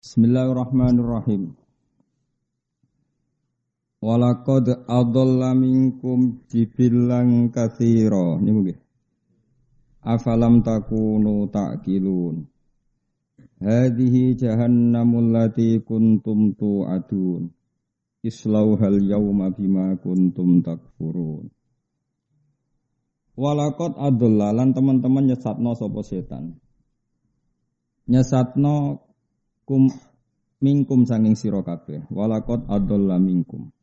Bismillahirrahmanirrahim. Walaqad adalla minkum jibilan katsira. Niku nggih. Afalam takunu ta'qilun. Hadhihi jahannamul lati kuntum tu'adun. Islauhal yawma bima kuntum takfurun. Walaqad adalla lan teman-teman nyesatno sapa setan. Nyesatno minkum saking sira kabeh walaqad adalla minkum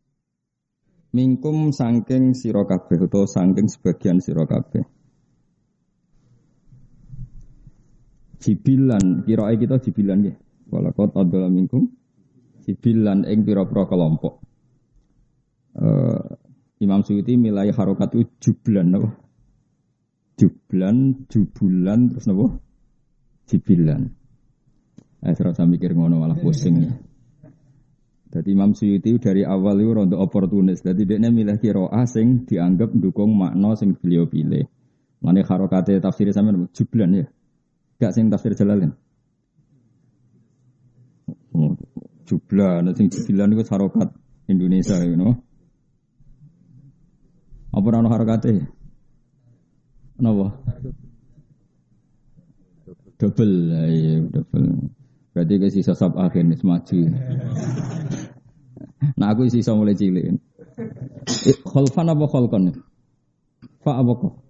saking sira kabeh utawa saking sebagian sira kabeh jibilan kirae kita jibilan nggih walaqad adalla minkum jibilan ing pira-pira kelompok Imam Suyuti milai harokat itu jublan napa jubulan terus napa jibilan. Serasa mikir ngono malah pusing ya. Jadi Imam Suyuti dari awal itu rontok oportunis. Jadi dia milih qiraah sing dianggap mendukung makna sing beliau pilih. Mane harokate tafsir sampean jublan ya. Gak sing tafsir Jalalain. Jublan sing jublan iku harokat Indonesia you know. Apa ana harokate? Napa? Double. Berarti ke sisa sab akhir nih maju. Nah aku sisa mulai cilik. Kholfan apa kholkon? Fa apa kok?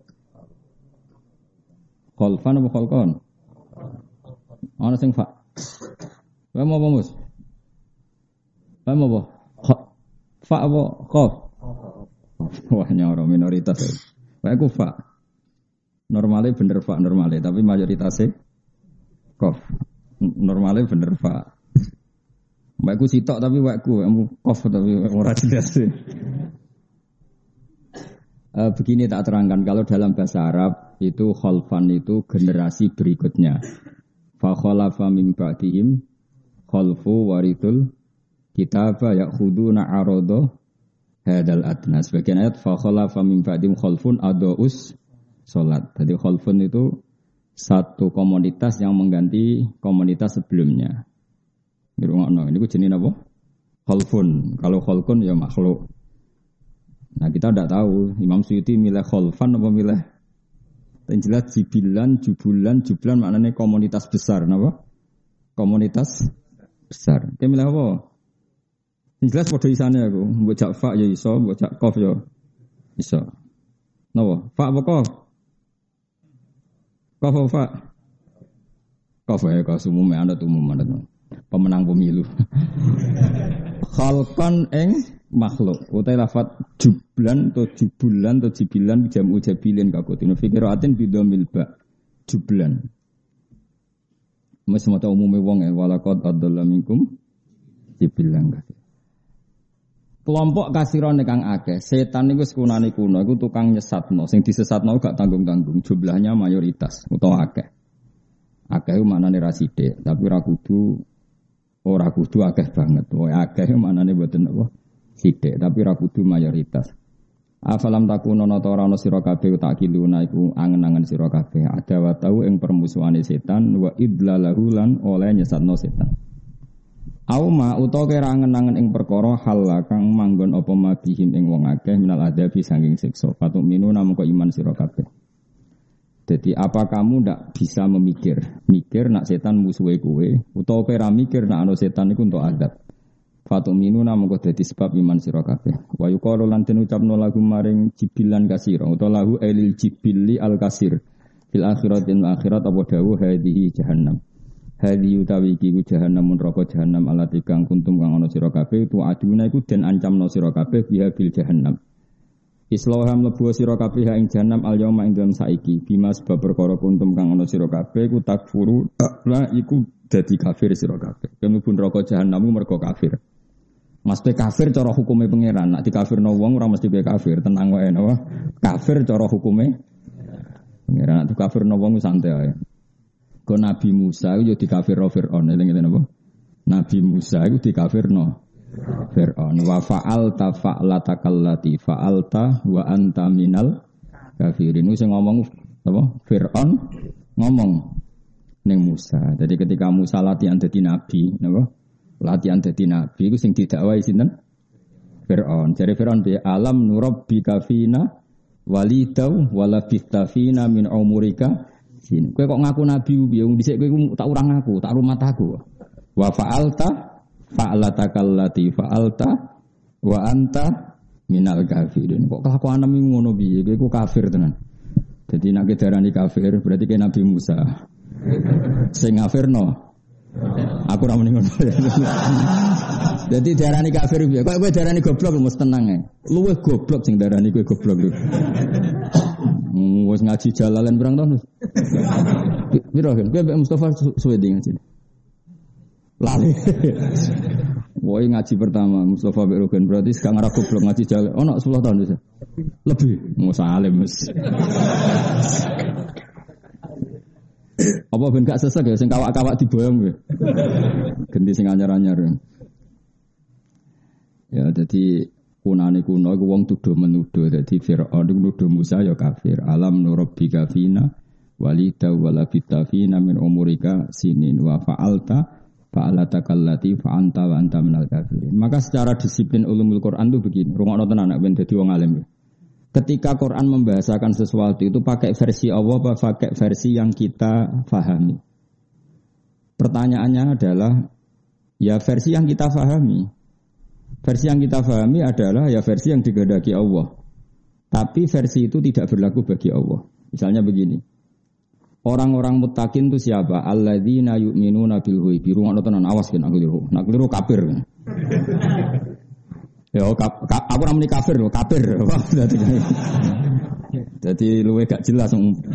Kholfan apa kholkon? Ana sing fa. Wae mau apa mus? Wae mau apa? Fa apa khof? Wah nyoro minoritas. Wae ku fa. Normalnya bener fa normalnya tapi mayoritasnya khof. Normalnya bener Pak. Mbakku sitok tapi wakku kof tapi ora jelas. Begini tak terangkan kalau dalam bahasa Arab itu khalfan itu generasi berikutnya. Fa khalafa min ba'dihim khalfu warithul kitaba ya'khuduna arada hadal adna. Sebagian ayat fa khalafa min ba'dihim khalfun adaus salat. Jadi khalfun itu satu komunitas yang mengganti komunitas sebelumnya. Ini ku jenis apa? Khalfun. Kalau khalfun ya makhluk. Nah kita tidak tahu. Imam Suyuti milih khalfan apa milih? Yang jelas jublan maknanya komunitas besar. Kenapa? Komunitas besar. Dia milih apa? Yang jelas pada isane aku. Bocak fa ya iso, bocak kof ya iso. Kenapa? Fa apa kof? Kofa, ya kau umumnya ada pemenang pemilu. Khalqan eng makhluk. Utai lafat jublan atau jubulan atau jibilan jamu jabilin kakutin. Fikiratin bidomil ba jublan. Mas mata umumnya wong walaqad adalla minkum jibilan. Kelompok kasiron kang akeh, setan niku sekunane kuno, iku tukang nyesatno, sing disesatno gak tanggung-tanggung, jumlahnya mayoritas utawa akeh. Akeh maknane ra sithik, tapi ora kudu akeh banget. Wae akeh maknane mboten apa sithik, tapi ra kudu mayoritas. Afalam takunono ta ora ana sira kabeh takiluna iku angen-angen sira kabeh ada wa tau ing permusuhane setan wa idlalahu lan oleh nyesatno setan. Auma utawa kira angen-angen ing perkara hal kang manggon apa mabihim ing wong akeh minal adabi saking siksa fatuk minu namung iman sira kabeh. Jadi apa kamu ndak bisa mikir nak setan musuhe kowe utawa kira mikir nak ana setan iku untuk adab. Fatuk minu namung dadi sebab iman sira kabeh. Wa yuqalu lan den ucapno lagu maring jibilan kasira utawa lahu elil jibili al kasir fil akhiratin akhirat apa dawuh hadhihi jahannam. Hadi utawi iki ku jahannam neraka jahannam alati kang kuntum kang ana sira kabeh tu aduna iku den ancamno sira kabeh biha bil jahannam. Islaham mlebu sira kabeh ing jahannam al yauma ing dalem saiki bima sebab perkara kuntum kang ana sira kabeh ku takfuru la iku dadi kafir sira kabeh. Mlebu neraka jahannam mergo kafir. Mesti kafir cara hukume pangeran. Nek dikafirno wong ora mesti be kafir, tenang wae napa. Kafir cara hukume pangeran. Nek dikafirno wong santai ae. Ko Nabi Musa itu dikafirno Fir'aun, eling-eling apa? Nabi Musa itu dikafirno Fir'aun. Wa fa'alta fa'latakallati fa'alta wa anta minal kafirin. Sing ngomong apa? Fir'aun ngomong ning Musa. Jadi ketika Musa latihan dadi nabi, napa? Latihan dadi nabi iku sing didakwahi sinten? Fir'aun. Jare Fir'aun bi alam nurabbika fina walidau wala fistafina min umurika. Kowe kok ngaku nabi piye? Wong dhisik kowe tak urang aku, tak rumat aku. Wa fa'alta fa'alatakallati fa'alta wa anta minal kafirin. Kok kelakuan nemu ngono piye? Kowe ku kafir tenan. Jadi nek darani kafir berarti kayak Nabi Musa. Sing kafirno. Aku ora muni ngono. Jadi darani kafir piye? Kok kowe darani goblok mesti tenang ae. Luwih goblok sing darani kowe goblok. Wes ngaji jalalan berang tahun. Piro kan? Kowe Mustafa suwe ngaji. Lali. Woi ngaji pertama Mustafa Berogan berarti sekarang arah goblok ngaji jalan. Oh nak 10 tahun bisa. Lebih. Musa alim mas. Apa ben gak sesek ya? Sing kawak-kawak diboyong ya. Ganti sing anyar-anyar. Ya jadi kunane kuno iku wong tuduh menuduh. Jadi Fir'aun iku nuduh Musa ya kafir. Alam nurabbika fina walida wala fitafina min umurika sinin wa fa'alta fa'alatakallati fa'anta wa anta minal kafirin. Maka secara disiplin ulumul Quran itu begini. Rungokno tenan nek ben dadi wong alim. Ketika Quran membahasakan sesuatu itu pakai versi Allah apa pakai versi yang kita fahami? Pertanyaannya adalah ya versi yang kita fahami. Versi yang kita fahami adalah ya versi yang digandaki Allah. Tapi versi itu tidak berlaku bagi Allah. Misalnya begini. Orang-orang muttaqin itu siapa? Alladzina yu'minuna bil ghaibi. Rungokno tenan awas kan aku keliru. Nak keliru kafir. Ya aku ora muni kafir lho, kafir. Jadi luwe gak jelas.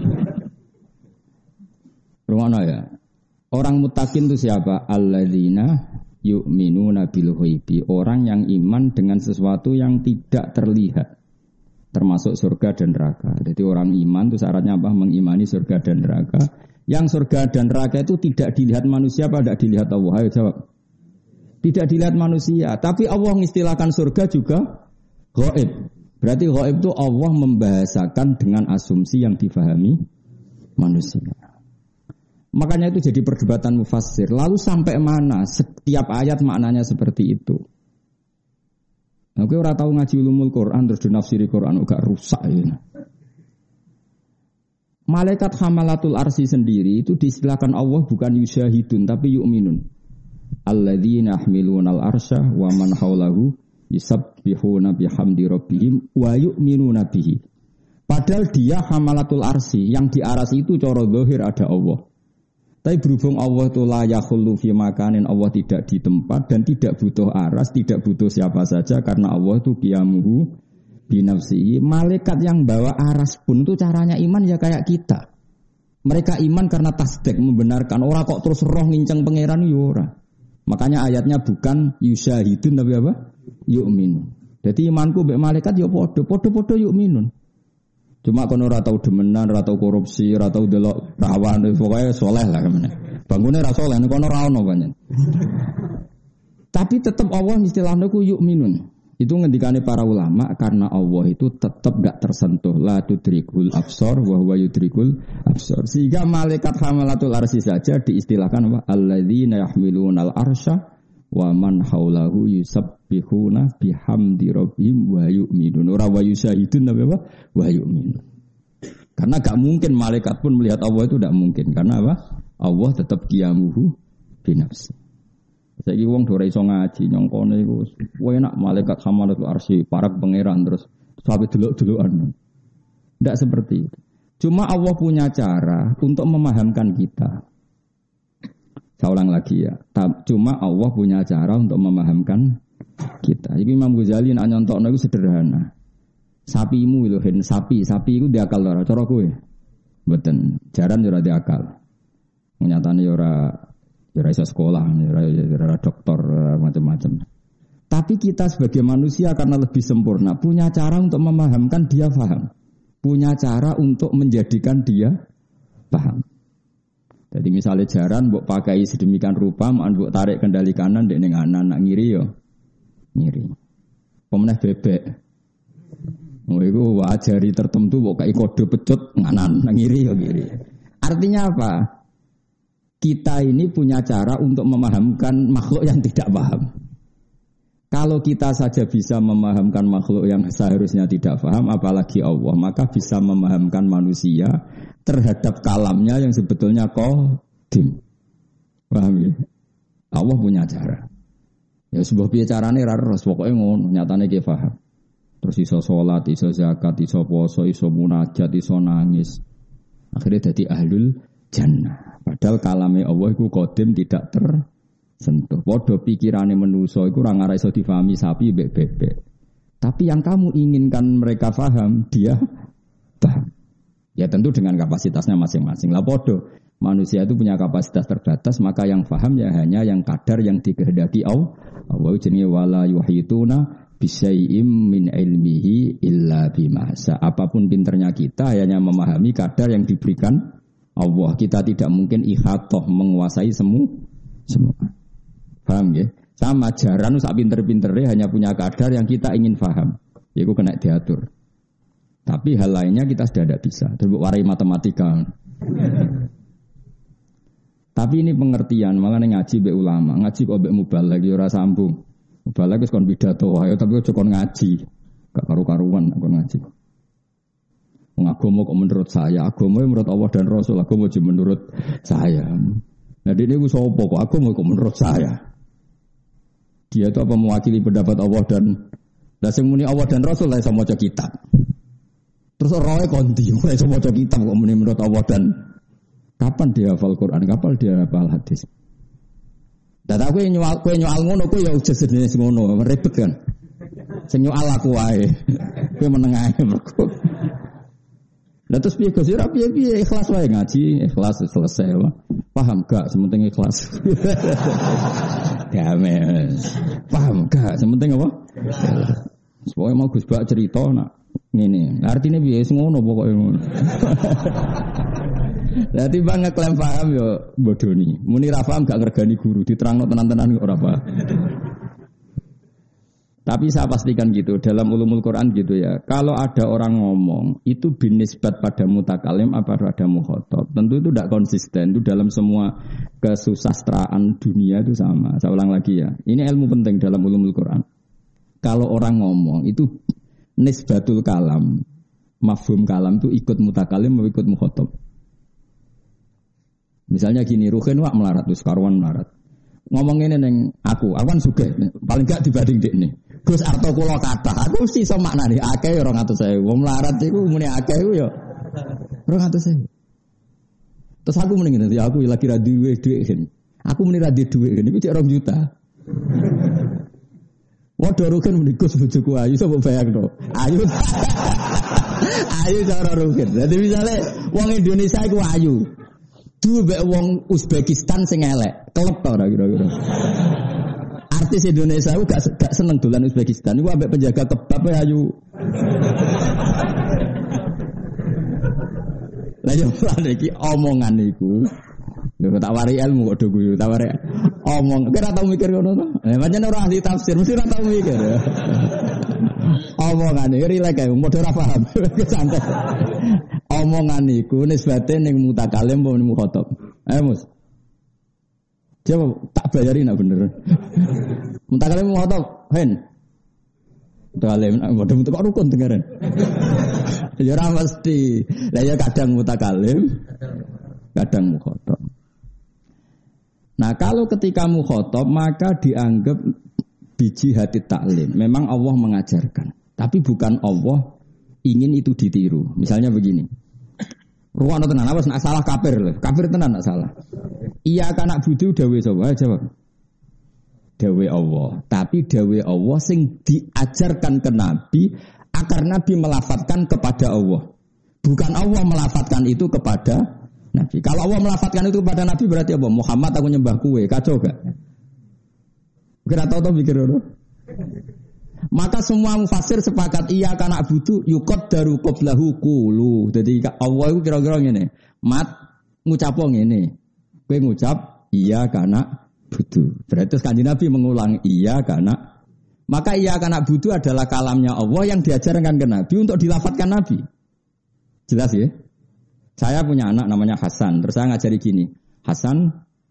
Rungokno ya. Orang muttaqin itu siapa? Alladzina yu'minuna bil ghaibi. Orang yang iman dengan sesuatu yang tidak terlihat. Termasuk surga dan neraka. Jadi orang iman itu syaratnya apa? Mengimani surga dan neraka. Yang surga dan neraka itu tidak dilihat manusia apa tidak dilihat Allah? Ayo jawab. Tidak dilihat manusia. Tapi Allah mengistilahkan surga juga ghaib. Berarti ghaib itu Allah membahasakan dengan asumsi yang difahami manusia. Makanya itu jadi perdebatan mufassir. Lalu sampai mana setiap ayat maknanya seperti itu? Nah, kowe ora tau ngaji ulumul Quran terus dinafsiri Quran gak rusak ya. Malaikat hamalatul arsy sendiri itu diistilahkan Allah bukan yusyahidun tapi yu'minun. Alladzina yahmilunal arsya wa man haulahu yusabbihuna bihamdi rabbihim wa yu'minuna bihi. Padahal dia hamalatul arsy, yang di arsy itu cara zahir ada Allah. Tapi berhubung Allah itu la yakhullu fi makanin, Allah tidak di tempat dan tidak butuh aras, tidak butuh siapa saja karena Allah itu qiyamuhu binafsihi. Malaikat yang bawa aras pun itu caranya iman ya kayak kita. Mereka iman karena tasdik, membenarkan. Orang kok terus roh nginceng pangeran ya ora. Makanya ayatnya bukan yusyahidun tapi apa? Yu'minun. Jadi imanku mbek malaikat ya padha-padha yu'minun. Cuma kono ora tau demenan, ora tau korupsi, ora tau delok rawan, pokoke saleh lah kemene. Bangune ra saleh kono ra ono banyak. Tapi tetap Allah istilahnya ku yu'minun. Itu ngendikane para ulama karena Allah itu tetap gak tersentuh la tudrikul absar wa huwa yudrikul absar. Sehingga malaikat hamalatul arsy saja diistilahkan apa? Alladzina yahmilunal arsya wa man haulahu yusabbihuna bihamdi rabbihim wa yu'minun. Ora wa yusyahidun tapi apa? Wa yu'minun. Karena gak mungkin malaikat pun melihat Allah itu tidak mungkin. Karena apa? Allah tetap qiyamuhu binafsi. Saiki wong ora iso ngaji nyongkone iku enak malaikat hamalatul arsy parak pangeran terus sampai delok-delokan. Tidak seperti itu. Cuma Allah punya cara untuk memahamkan kita. Saya ulang lagi ya. Cuma Allah punya cara untuk memahamkan kita. Jadi Imam Ghazali nak nyontokno iku sederhana. Sapimu lho hen sapi iku diakal ora cara kowe. Mboten, jaran ora diakal. Nyatane ora iso sekolah, ora dokter macam-macam. Tapi kita sebagai manusia karena lebih sempurna punya cara untuk memahamkan dia paham. Punya cara untuk menjadikan dia paham. Jadi misalnya jaran mbok pakai sedemikian rupa, mbok tarik kendali kanan dek ning kanan, nak ngiri yo ngiri. Pemenah bebek. Oh iku wajari tertentu mbok kai kode pecut nganan, nak ngiri yo ngiri. Artinya apa? kita ini punya cara untuk memahamkan makhluk yang tidak paham. Kalau kita saja bisa memahamkan makhluk yang seharusnya tidak paham, apalagi Allah, maka bisa memahamkan manusia terhadap kalamnya yang sebetulnya qadim. Paham ya? Allah punya cara. Ya sebuah bicarane raros pokoknya ngono, nyatane ki paham. Terus iso salat, iso zakat, iso puasa, iso munajat, iso nangis. Akhirnya jadi ahlul jannah. Padahal kalame Allah iku qadim tidak tersentuh. Padha pikirane manusa iku ora ngarep iso difahami sapi mbek bebek. Tapi yang kamu inginkan mereka paham, dia paham. Ya tentu dengan kapasitasnya masing-masing. Lah padha manusia itu punya kapasitas terbatas, maka yang paham ya hanya yang kadar yang dikehendaki Allah. Allah jenenge wala yuhituna bisyai'im min ilmihi illa bima sa. Apapun pinternya kita hanya memahami kadar yang diberikan Allah. Kita tidak mungkin ihatah menguasai semua. Paham ya? Sama jaran sak pinter-pintere hanya punya kadar yang kita ingin paham. Yaitu kena diatur. Tapi hal lainnya kita sudah tidak bisa. Terbuk warai matematika. Tapi ini pengertian, makanya ngaji be ulama, ngaji kok be mubaligh lagi ora sambung. Mubaligh wis kon pidato wae, tapi aja kon ngaji. Gak karu-karuan kon ngaji. Wong agama kok menurut saya, agama menurut Allah dan Rasul, agama cuma menurut saya. Nah ini ku sapa kok agama kok menurut saya. Dia itu apa mewakili pendapat Allah dan sing muni Allah dan Rasul lah iso maca kitab. Terus roe konti, ora iso maca kitab kok muni menurut Allah dan kapan dia hafal Quran, kapan dia hafal hadis. Dan aku yang nyual ngono, aku ya udah sejenis ngono, ribet kan. Sing nyual aku wae, aku menengahe mergo. Lah terus piye Gus? Ora piye ikhlas wae ngaji, ikhlas selesai. Paham gak? Sementing ikhlas. Damai. Paham gak? Sementing apa? Pokoke mau Gus Bak cerita nak ngene. Artine piye ngono pokoke ngono. Dadi bang ngeklaim paham yo bodoni. Muni ra paham gak ngergani guru, diterangno tenan-tenan ora paham. Tapi saya pastikan gitu, dalam ulumul Quran gitu ya. Kalau ada orang ngomong, itu binisbat pada mutakalim apa pada mukhatab. Tentu itu tidak konsisten, itu dalam semua kesusastraan dunia itu sama. Saya ulang lagi ya, ini ilmu penting dalam ulumul Quran. Kalau orang ngomong, itu nisbatul kalam, mafhum kalam itu ikut mutakalim atau ikut mukhatab. Misalnya gini, Ruhin wak melarat, terus Karwan melarat. Ngomong ini neng aku kan sugih, paling gak dibanding dek nih. Gus arto kula kata, aku mesti iso maknani akeh 200.000. Wong melarat iku muni akeh iku ya 200.000. Terus aku muni ngene, ya aku lagi ra duwe dhuwit. Aku muni ra duwe dhuwit, niku cek 2 juta. Waduh Ruhin muni Gus bojoku ayu sapa bayangno. Ayu. Ayu cara Ruhin. Dadi misale wong Indonesia iku ayu. Duwe wong Uzbekistan sing elek, kelep ta ora kira-kira. Artis Indonesia itu gak seneng dolan Uzbekistan. Iku ambek penjaga kebab ayu. Lah yo lan iki omongan iku. Lho tak wari ilmu kok do guyu, tak wari omong. Kira tau mikir ngono to? Pancen ora ahli tafsir, mesti ora tau mikir. Omongan iki rilek ae, padha ora paham. Santai. Omongan iku nisbate ning mutakalim apa ning mukhatab. Ayo Mus. Coba tak bayarin nak bener. Mutakalim mukhatab, hen. Mutakalim padha mutak rukun dengaran. Ya ora mesti. Lah ya kadang mutakalim, kadang mukhatab. Nah, kalau ketika mukhatab maka dianggap biji hati taklim. Memang Allah mengajarkan, tapi bukan Allah ingin itu ditiru. Misalnya begini. Ruwana tenan awas nak salah kafir lho. Kafir tenan nak salah. Iya kan nak budu dawe sapa? Jawab. Dawe Allah. Tapi dawe Allah sing diajarkan ke Nabi agar Nabi melafatkan kepada Allah. Bukan Allah melafatkan itu kepada Nabi. Kalau Allah melafatkan itu kepada Nabi berarti apa? Muhammad aku nyembah kue. Kacau gak? Kira tahu mikir dulu. Maka semua mufassir sepakat iya kana butuh yukot daru qoblahu qulu. Jadi Allah itu kira-kira ngene. Mat ngucap ngene. Kowe ngucap iya kana butuh. Berarti Kanjeng Nabi mengulang iya kana. Maka iya kana butuh adalah kalamnya Allah yang diajarkan ke Nabi untuk dilafadzkan Nabi. Jelas ya? Saya punya anak namanya Hasan. Terus saya ngajari gini. Hasan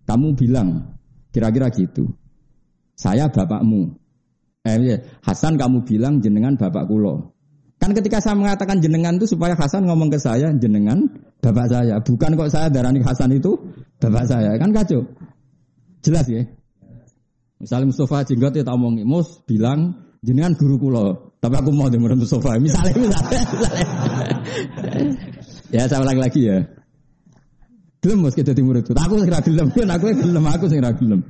kamu bilang kira-kira gitu. Saya bapakmu. Hasan kamu bilang jenengan bapak kula. Kan ketika saya mengatakan jenengan itu supaya Hasan ngomong ke saya jenengan bapak saya. Bukan kok saya darani Hasan itu bapak saya. Kan kacau. Jelas ya? Misalnya Mustafa Jenggot ya tak omongi, Mus bilang jenengan guru kula. Tapi aku mau dengerin Mustafa. Misalnya. Ya saya ulang lagi ya. Gelem Mus kita di muridku. Aku sing ra gelem, aku sing ra gelem.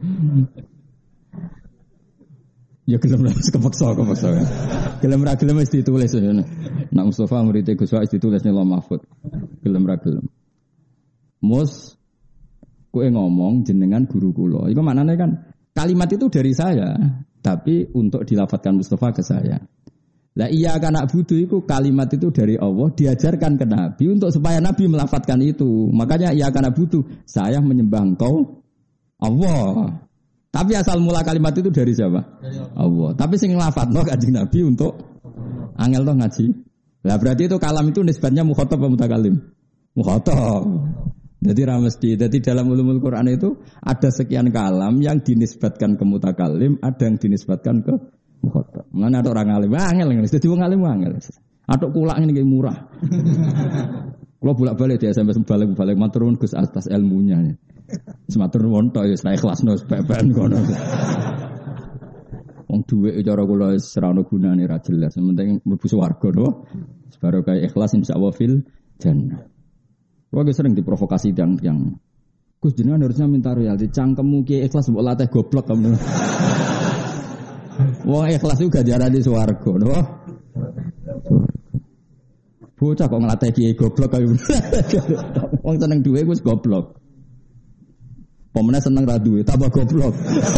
Ya gelem lah, kepaksa. Gelem ra gelem wis ditulis ya. Nak Mustafa murid Gus Wais ditulis ning Lauh Mahfuz. Gelem ra gelem. Mus kowe ngomong jenengan guru kula. Iku maknane kan kalimat itu dari saya, tapi untuk dilafadzkan Mustafa ke saya. Lah iya kan nak budu itu kalimat itu dari Allah diajarkan ke Nabi untuk supaya Nabi melafadzkan itu. Makanya iya kan nak budu saya menyembah engkau Allah. Tapi asal mula kalimat itu dari siapa? Dari Allah. Tapi sing nglafadzno Kanjeng Nabi untuk angel toh ngaji. Lah berarti itu kalam itu nisbatnya mukhatab atau mutakalim? Mukhatab. Jadi ramesti. Jadi dalam ulumul Quran itu ada sekian kalam yang dinisbatkan ke mutakalim, ada yang dinisbatkan ke mukhatab. Mana ada orang alim, angel ngene. Dadi wong alim angel. Atok kulak ngene iki murah. Kalau bolak-balik dia sampai balik matur nuwun Gus atas ilmunya. Sematur nuwun tok ya ora ikhlasno beban kono. Wong dhuwit cara kula wis ora ono gunane ra jelas. Penting mlebu swarga to. Sebaro kaya ikhlas insyaallah fil jannah. Kula sering diprovokasi yang Gus jenengan harusnya minta royalti. Cangkemmu ki ikhlas mbok latih goblok kamu. Wong ikhlas juga jarane swarga to. Bocah kok nglatih kiai goblok kaya. Wong seneng duwe wis goblok. Pemene seneng ra duwe, tambah goblok.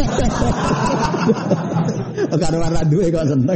Karo ra duwe kok seneng.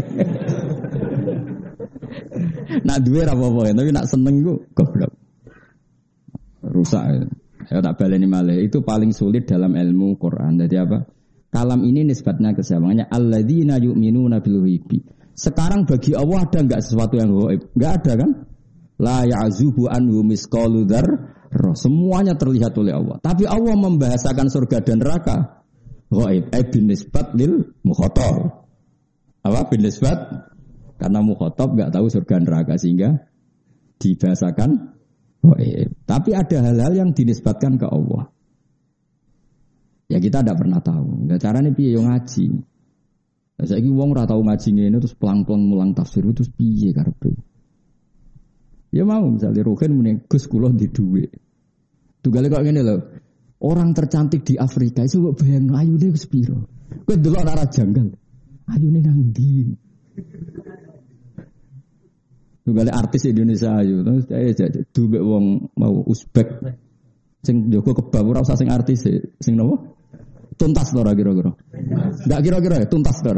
Nak duwe ra apa-apa, tapi nak seneng ku goblok. Rusak. Ya tak baleni malih. Itu paling sulit dalam ilmu Quran. Jadi apa? Kalam ini nisbatnya ke siapa? Alladzina yu'minuna bil ghaibi. Sekarang bagi Allah ada enggak sesuatu yang gaib? Enggak ada kan? La ya'zubu anhu misqalu dzarrah. Semuanya terlihat oleh Allah. Tapi Allah membahasakan surga dan neraka ghaib, bin nisbat lil mukhatab. Apa bin nisbat? Karena mukhatab enggak tahu surga neraka sehingga dibahasakan ghaib. Tapi ada hal-hal yang dinisbatkan ke Allah. Ya kita tidak pernah tahu. Ya carane piye yo ngaji. Saiki wong ora tau ngaji ngene terus pelang-pelang mulang tafsir terus piye karepe? Ya mau misalnya Ruhin muni Gus kula di dhuwit. Tugale kok ngene lho. Orang tercantik di Afrika itu kok bayang ayune wis piro. Kowe delok ora janggal. Ayune nang ndi? Tugale artis Indonesia ayu terus dhuwit wong mau Uzbek sing njogo kebab ora usah sing artis sing napa? Tuntas to ora kira-kira? Enggak kira-kira ya tuntas to ora?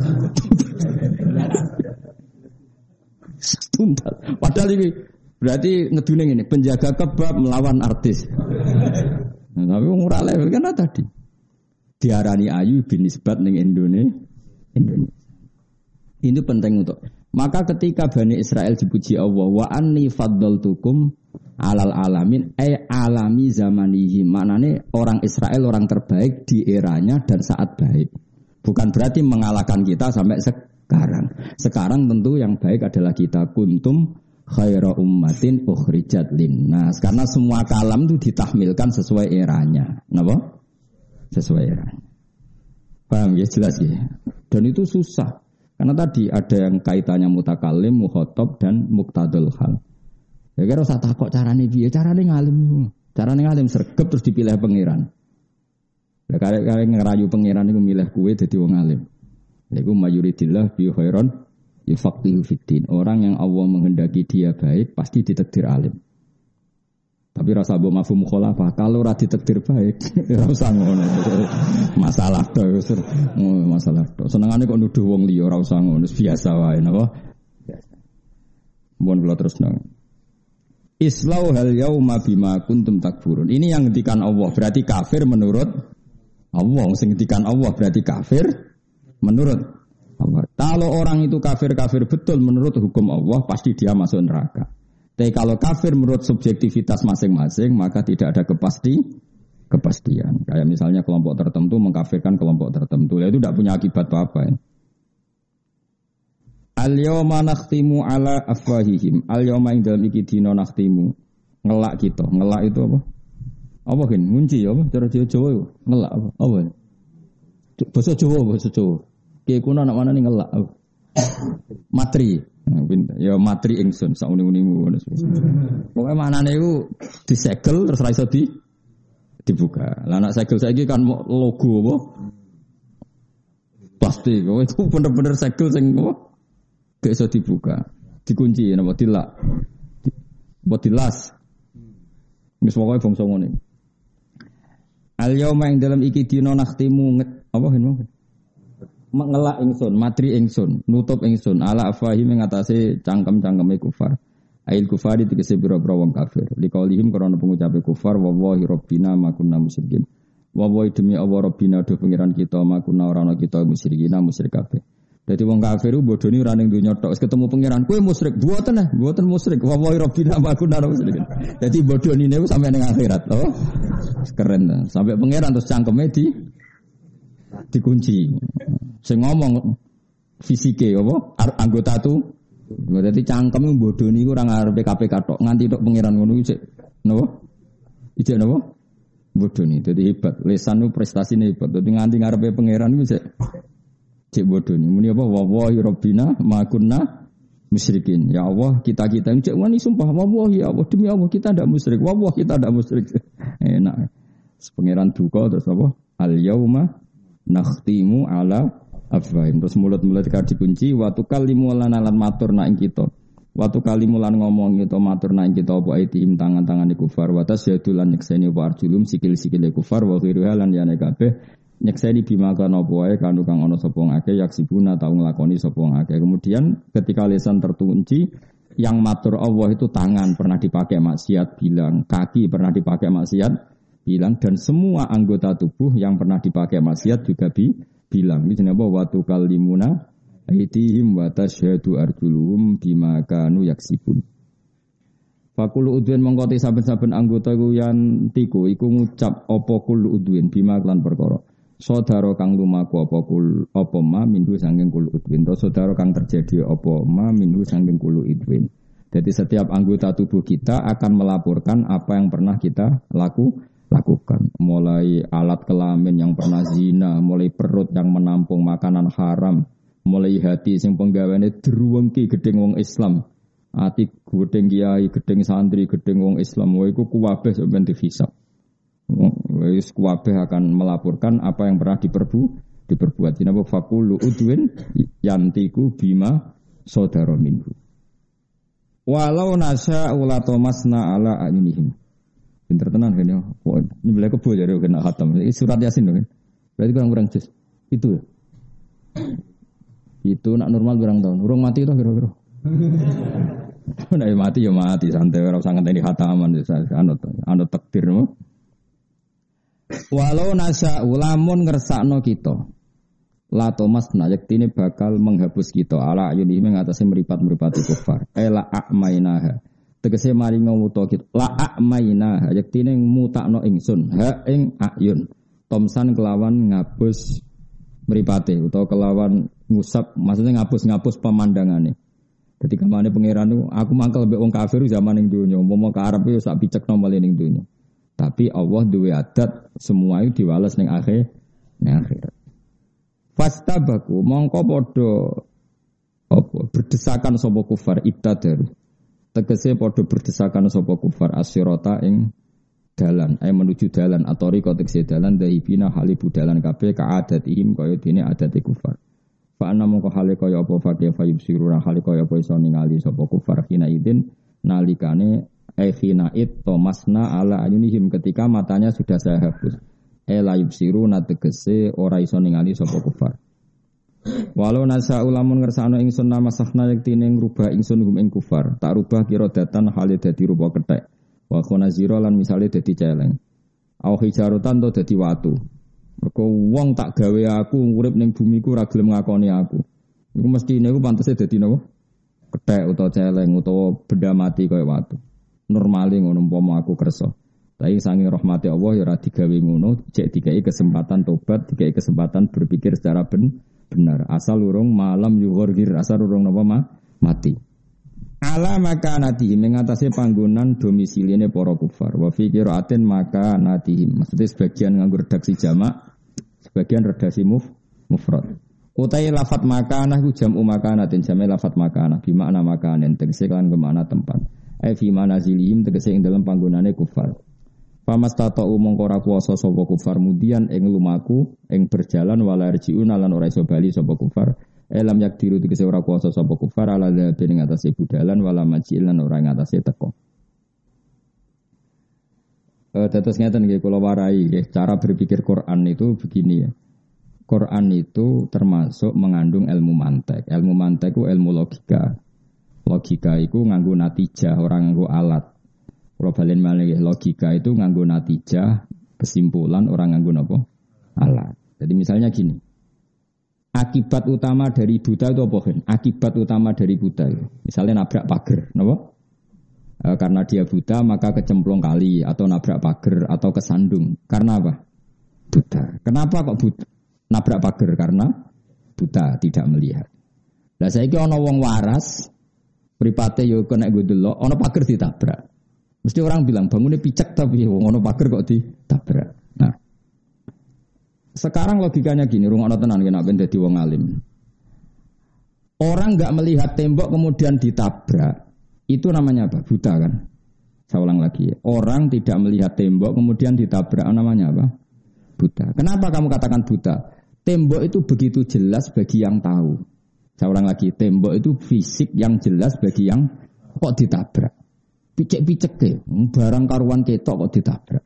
Tuntas. Padahal ini berarti ngedune ngene, penjaga kebab melawan artis. Nah, tapi wong ora level kan tadi. Diarani ayu bin nisbat ning Indonesia. Ini penting untuk. Maka ketika Bani Israel dipuji Allah, wa anni faddaltukum alal alamin alami zamanihi. Maknane orang Israel orang terbaik di eranya dan saat baik. Bukan berarti mengalahkan kita sampai sekarang. Sekarang tentu yang baik adalah kita kuntum khaira ummatin ukhrijat linnas. Karena semua kalam itu ditahmilkan sesuai eranya. Napa? Sesuai eranya. Paham ya jelas ya. Dan itu susah. Karena tadi ada yang kaitannya mutakalim, mukhatab dan muqtadul hal. Ya kira usah takok carane piye? Carane ngalim. Carane ngalim sregep terus dipilih pangeran. Lah kare ngerayu pangeran iku milih kowe dadi wong alim. Iku mayuridillah bi khairan yufaqihu fiddin. Orang yang Allah menghendaki dia baik pasti ditakdir alim. Tapi rasa mbok mafhum mukhalafah kalau ora ditakdir baik ora usah ngono. Masalah to masalah to. Senengane kok nuduh wong liya ora usah ngono biasa wae napa? Biasa. Mohon kula terusno. Islau hal yauma bima kuntum takfurun. Ini yang ngendikan Allah berarti kafir menurut Allah. Sing ngendikan Allah berarti kafir menurut Allah. Kalau orang itu kafir betul menurut hukum Allah pasti dia masuk neraka. Tapi kalau kafir menurut subjektivitas masing-masing maka tidak ada kepastian. Kayak misalnya kelompok tertentu mengkafirkan kelompok tertentu, itu tidak punya akibat apa-apa. Ya. Al-yawma nakhtimu ala afwahihim. Al-yawma ing dalem iki dina nakhtimu. Ngelak kita. Ngelak itu apa? Apa kan? Ngunci apa? Cara Jawa itu. Ngelak apa? Apa? Bahasa Jawa. Kiye kuno anak mana nih ngelak apa? Matri. Ya matri ingsun sak uni-unimu. Pokoke manane iku disegel terus ra iso dibuka. Lah anak segel saiki kan logo apa? Plastik. Itu bener-bener segel sing apa? Gak iso dibuka, dikunci napa dilak. Mbok dilas. Wis pokoke bangsa ngene. Al yauma ing dalam iki dina nakhtimu apa hen ngelak ingsun, matri ingsun, nutup ingsun ala afahim ing atase cangkem-cangkeme kufar. Ail kufari tegese pira-pira wong kafir. Liqaulihim karena pengucape kufar wallahi rabbina ma kunna musyrikin. Wallahi demi Allah rabbina do pengiran kita ma kunna ora ana kita musyrikina musyrik kabeh. Jadi wong kafir ku bodoni ora ning donya tok, wis ketemu pangeran, kowe musyrik, mboten musyrik. Wallahi rabbina ma kunna musyrikin. Dadi bodonine ku sampe ning akhirat, oh. Keren ta. Sampai pangeran terus cangkeme dikunci. Sing ngomong fisike apa? Anggota tu. Dadi cangkeme bodoni ku ora ngarepe KPK tok, nganti tok pangeran ngono iki napa? Ijek napa? Bodoni. Dadi hebat. Lisan ku prestasine hebat. Dadi nganti ngarepe pangeran ku cek bodoh ni, muni apa? Wallahi rabbina ma kunna musyrikin. Ya Allah, kita ini cek wani sumpah wallahi ya Allah demi Allah kita tidak musyrik. Wallahi kita tidak musyrik. Enak. Pangeran duka terus apa? Al yauma nakhtimu ala afwahim. Terus mulut-mulut kita dikunci wa tukallimu lana lan matur nak ing kita. Wa tukallimu lan ngomong kita matur nak ing kita apa aitihim tangan-tangane kufar wa tasyadu lan nyekseni wa arjulum sikil-sikile kufar wa ghiruha lan yane kabeh nyekseni bima kana apa wae kanu kang ana sapa ngake yaksibuna tau nglakoni sapa ngake. Kemudian ketika lisan terkunci yang matur Allah itu tangan pernah dipakai maksiat bilang, kaki pernah dipakai maksiat bilang, dan semua anggota tubuh yang pernah dipakai maksiat juga bilang. Ini jenenge wa tukallimuna aitihim wa tasyhadu arjuluhum bima kanu yaksibun. Fakulu udwin mengkoti saben-saben anggota ku yan tiku iku ngucap apa kul udwin bima lan perkara. Saudara kang lumaku apa ma minhu sanging kul udwin. To saudara kang terjadi apa ma minhu sanging kul udwin. Jadi setiap anggota tubuh kita akan melaporkan apa yang pernah kita lakukan. Mulai alat kelamin yang pernah zina, mulai perut yang menampung makanan haram, mulai hati sing penggaweane druwengki gedeng wong Islam. Ati gedeng kiai, gedeng santri, gedeng wong Islam, wae iku kuwabeh sampeyan dihisab. Wis kuwabeh akan melaporkan apa yang pernah diperbuat. Dinapa fakulu udwin yantiku bima saudara minhu. Walau nasa ulatomasna ala ayunihim. Pinter tenan kan ya. Ini boleh kebo jadi kena khatam. Ini surat Yasin kan. Berarti kurang jus. Itu ya. Itu nak normal berang tahun. Urung mati itu kira-kira. Nah mati ya mati santai ora usah ngenteni khataman anut takdir mo. Walau nasa ulamun ngersakno kita. La tomasna yaktine bakal menghapus kita ala ayuni mengatasi meripat-meripati kufar. Ela a'mainaha. Tegese mari ngawuta kita. La a'mainaha yaktine mutakno ingsun ha ing ayun. Tomsan kelawan ngapus mripate utawa kelawan ngusap maksudnya ngapus pemandangane. Dadi kamane pangeran niku aku mangkel mbek wong kafir zaman ning donya, umpama ka Arab yo sak picekno male ning donya. Tapi Allah duwe adat semua itu diwales ning akhirat. Fastabaku mongko padha apa berdesakan sapa kufar ibtadaru. Tegese padha berdesakan sapa kufar asyirata ing dalan menuju dalan atau riko tegese dalan dahibina halibu dalan kabeh kaadatihim kaya dene adate kufar. Fa ana mongko hale kaya apa fakih fayub sirura hale kaya apa iso ningali sapa kufar hina idin nalikane khinaid tomasna ala ayunihim ketika matanya sudah saya hapus. La yubsiruna tegese ora iso ningali sapa kufar. Walau nasa ulamun ngersakno ingsun namasahna yektine ngrubah ingsun hum ing kufar, tak rubah kira datan hale dadi rupa kethek. Wa khunazira lan misale dadi celeng. Au hijarotan to dadi watu. Mergo wong tak gawe aku urip ning bumi ku ora gelem ngakoni aku. Iku mestine iku pantese dadi napa? Kethek utawa celeng utawa benda mati kaya watu. Normale ngono umpama aku kersa. Tapi saking rahmati Allah ya ora digawe ngono, cek dikai kesempatan tobat, dikai kesempatan berpikir secara benar. Asal urung malam yughir, asal urung napa mati. Ala makanatihim mengatasi panggonan domisiline para kufar. Wa fi qiraatin makanatihim. Maksudnya sebagian nganggo redaksi jamak, sebagian redaksi mufrad. Utai lafat makanah ku jam'u makanatin, jam'e lafat makanah bi makna makanen tegese lan kemana tempat. Ai fi manazilihim tegese ing dalam panggonane kufar. Pamasta'u mongko ora kuwasa sapa kufar mudian ing lumaku ing berjalan wala rjiun lan ora iso bali sapa kufar. Elam yakdiru tegese ora kuwasa sapa kufar ala dadi ing atase budalan wala majil lan ora ing atase teko. Tetes ngeten nggih kula warai nggih cara berpikir Quran itu begini ya. Quran itu termasuk mengandung ilmu mantek. Ilmu mantek itu ilmu logika. Logika itu nganggo natijah, orang nganggo alat. Kalau balen malih logika itu nganggo natijah, kesimpulan, orang nganggo napa? Alat. Jadi misalnya gini. Akibat utama dari buta itu apa kan? Akibat utama dari buta itu. Misalnya nabrak pagar, napa? Karena dia buta maka kecemplung kali atau nabrak pagar atau kesandung. Karena apa? Buta. Kenapa kok buta? Nabrak pagar karena buta, tidak melihat. Lah saiki ana wong waras, mripate yo kena nggo delok, ana pagar ditabrak. Mesti orang bilang bangunnya picek tapi wong ana pagar kok ditabrak. Nah. Sekarang logikanya gini, rungokno tenan nek ben dadi wong alim. Orang enggak melihat tembok kemudian ditabrak, itu namanya apa? Buta kan? Saya ulang lagi. Orang tidak melihat tembok kemudian ditabrak, namanya apa? Buta. Kenapa kamu katakan buta? Tembok itu begitu jelas bagi yang tahu. Saya ulang lagi, tembok itu fisik yang jelas bagi yang kok ditabrak. Picek-picek ke, barang karuan ketok kok ditabrak.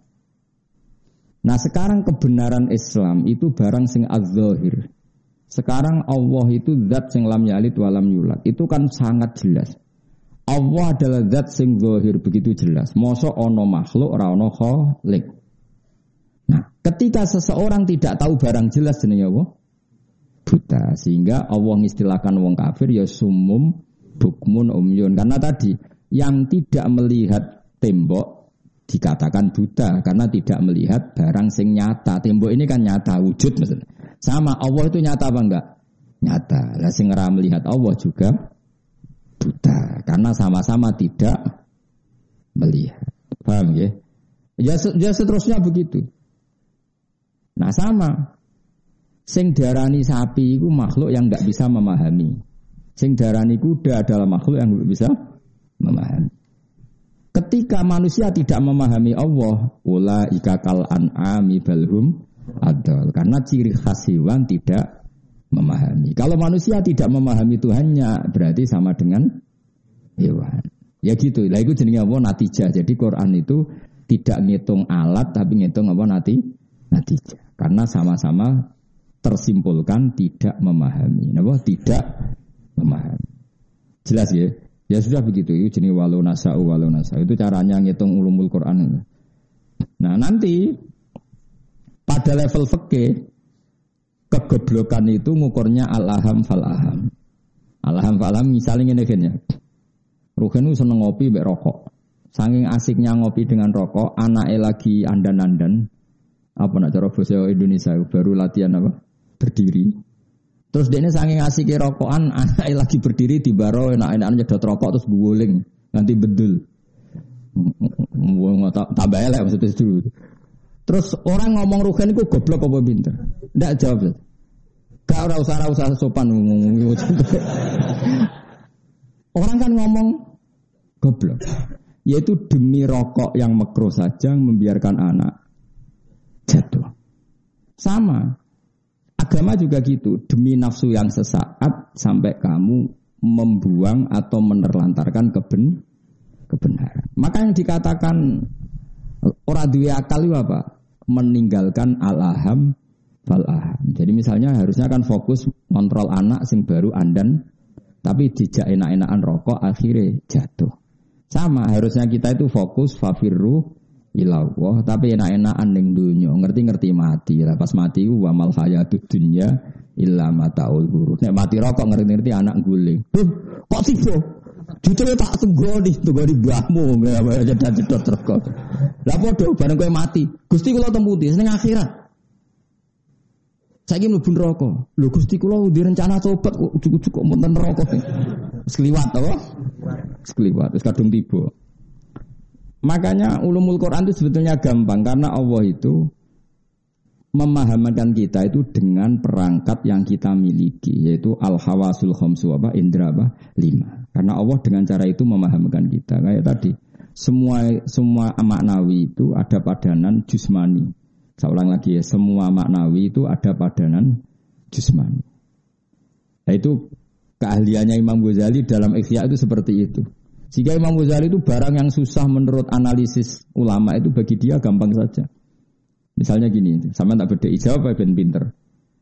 Nah sekarang kebenaran Islam itu barang sing az-zahir. Sekarang Allah itu zat sing lam yalid wa lam yulad. Itu kan sangat jelas. Allah adalah zat sing zahir begitu jelas. Mosok ana makhluk ora ana khaliq. Nah, ketika seseorang tidak tahu barang jelas jenenge apa? Buta. Sehingga Allah mengistilahkan wong kafir ya sumum bukmun umyun. Karena tadi yang tidak melihat tembok dikatakan buta karena tidak melihat barang sing nyata. Tembok ini kan nyata wujud maksudnya. Sama Allah itu nyata apa enggak? Nyata. Lah sing ora melihat Allah juga buta karena sama-sama tidak melihat. Paham ya? Ya seterusnya begitu. Nah sama, sing darani sapi itu makhluk yang enggak bisa memahami. Sing darani kuda adalah makhluk yang enggak bisa memahami. Ketika manusia tidak memahami Allah, ulaika kal an'ami balhum adal. Karena ciri khas hewan tidak memahami. Kalau manusia tidak memahami Tuhannya, berarti sama dengan hewan. Ya gitu. Lah itu jenenge apa? Natijah. Jadi Quran itu tidak ngitung alat, tapi ngitung apa natijah. Karena sama-sama tersimpulkan tidak memahami. Napa? Tidak memahami. Jelas ya? Ya sudah begitu. Itu jenis walau nasa'u. Itu caranya ngitung ulumul Quran. Nah nanti pada level fikih kegoblokan itu ngukurnya al-aham fal-aham. Al-aham fal-aham misalnya ngene ya. Ruhen itu seneng ngopi mbek rokok. Saking asiknya ngopi dengan rokok, anaknya lagi andan-andan. Apa nak cara bahasa Indonesia baru latihan apa? Berdiri. Terus dia ini saking asiknya rokokan, anaknya lagi berdiri di baro, enak-enakan nyedot rokok terus guling, nanti bedul. Tambah elek maksudnya itu. Terus orang ngomong Ruhen itu goblok apa pinter? Ndak jawab. Gak usah sopan ngomong. Orang kan ngomong goblok. Yaitu demi rokok yang makruh saja membiarkan anak jatuh. Sama. Agama juga gitu. Demi nafsu yang sesaat sampai kamu membuang atau menerlantarkan kebenaran. Maka yang dikatakan ora duwe akal itu apa? Meninggalkan al-aham fal-aham. Jadi misalnya harusnya kan fokus kontrol anak sing baru andan tapi dijak enak-enakan rokok akhirnya jatuh. Sama harusnya kita itu fokus fafirru ilallah tapi enak-enakan ning dunya, ngerti-ngerti mati. Lah pas mati ku wa mal hayatud dunya illa mataul ghurur. Nek mati rokok ngerti-ngerti anak guling. Kok tiba? Jujur tak tunggoni mbahmu nggak jedot terus. Lah padha bareng kowe mati. Gusti kula temputi ning akhirat. Saiki mlebu neraka. Lho Gusti kula di rencana tobat kok ujug-ujug kok wonten neraka. Wis kliwat to. Wis kliwat, wis kadung tiba. Makanya ulumul Quran itu sebetulnya gampang karena Allah itu memahamkan kita itu dengan perangkat yang kita miliki, yaitu al-hawasul khamsu indra 5. Karena Allah dengan cara itu memahamkan kita. Kayak tadi, semua maknawi itu ada padanan jusmani. Saya ulang lagi ya, semua maknawi itu ada padanan jusmani. Nah itu keahliannya Imam Ghazali dalam Ihya itu seperti itu. Jika Imam Ghazali itu barang yang susah menurut analisis ulama itu bagi dia gampang saja. Misalnya gini, sama tak beda ijawab ben pinter.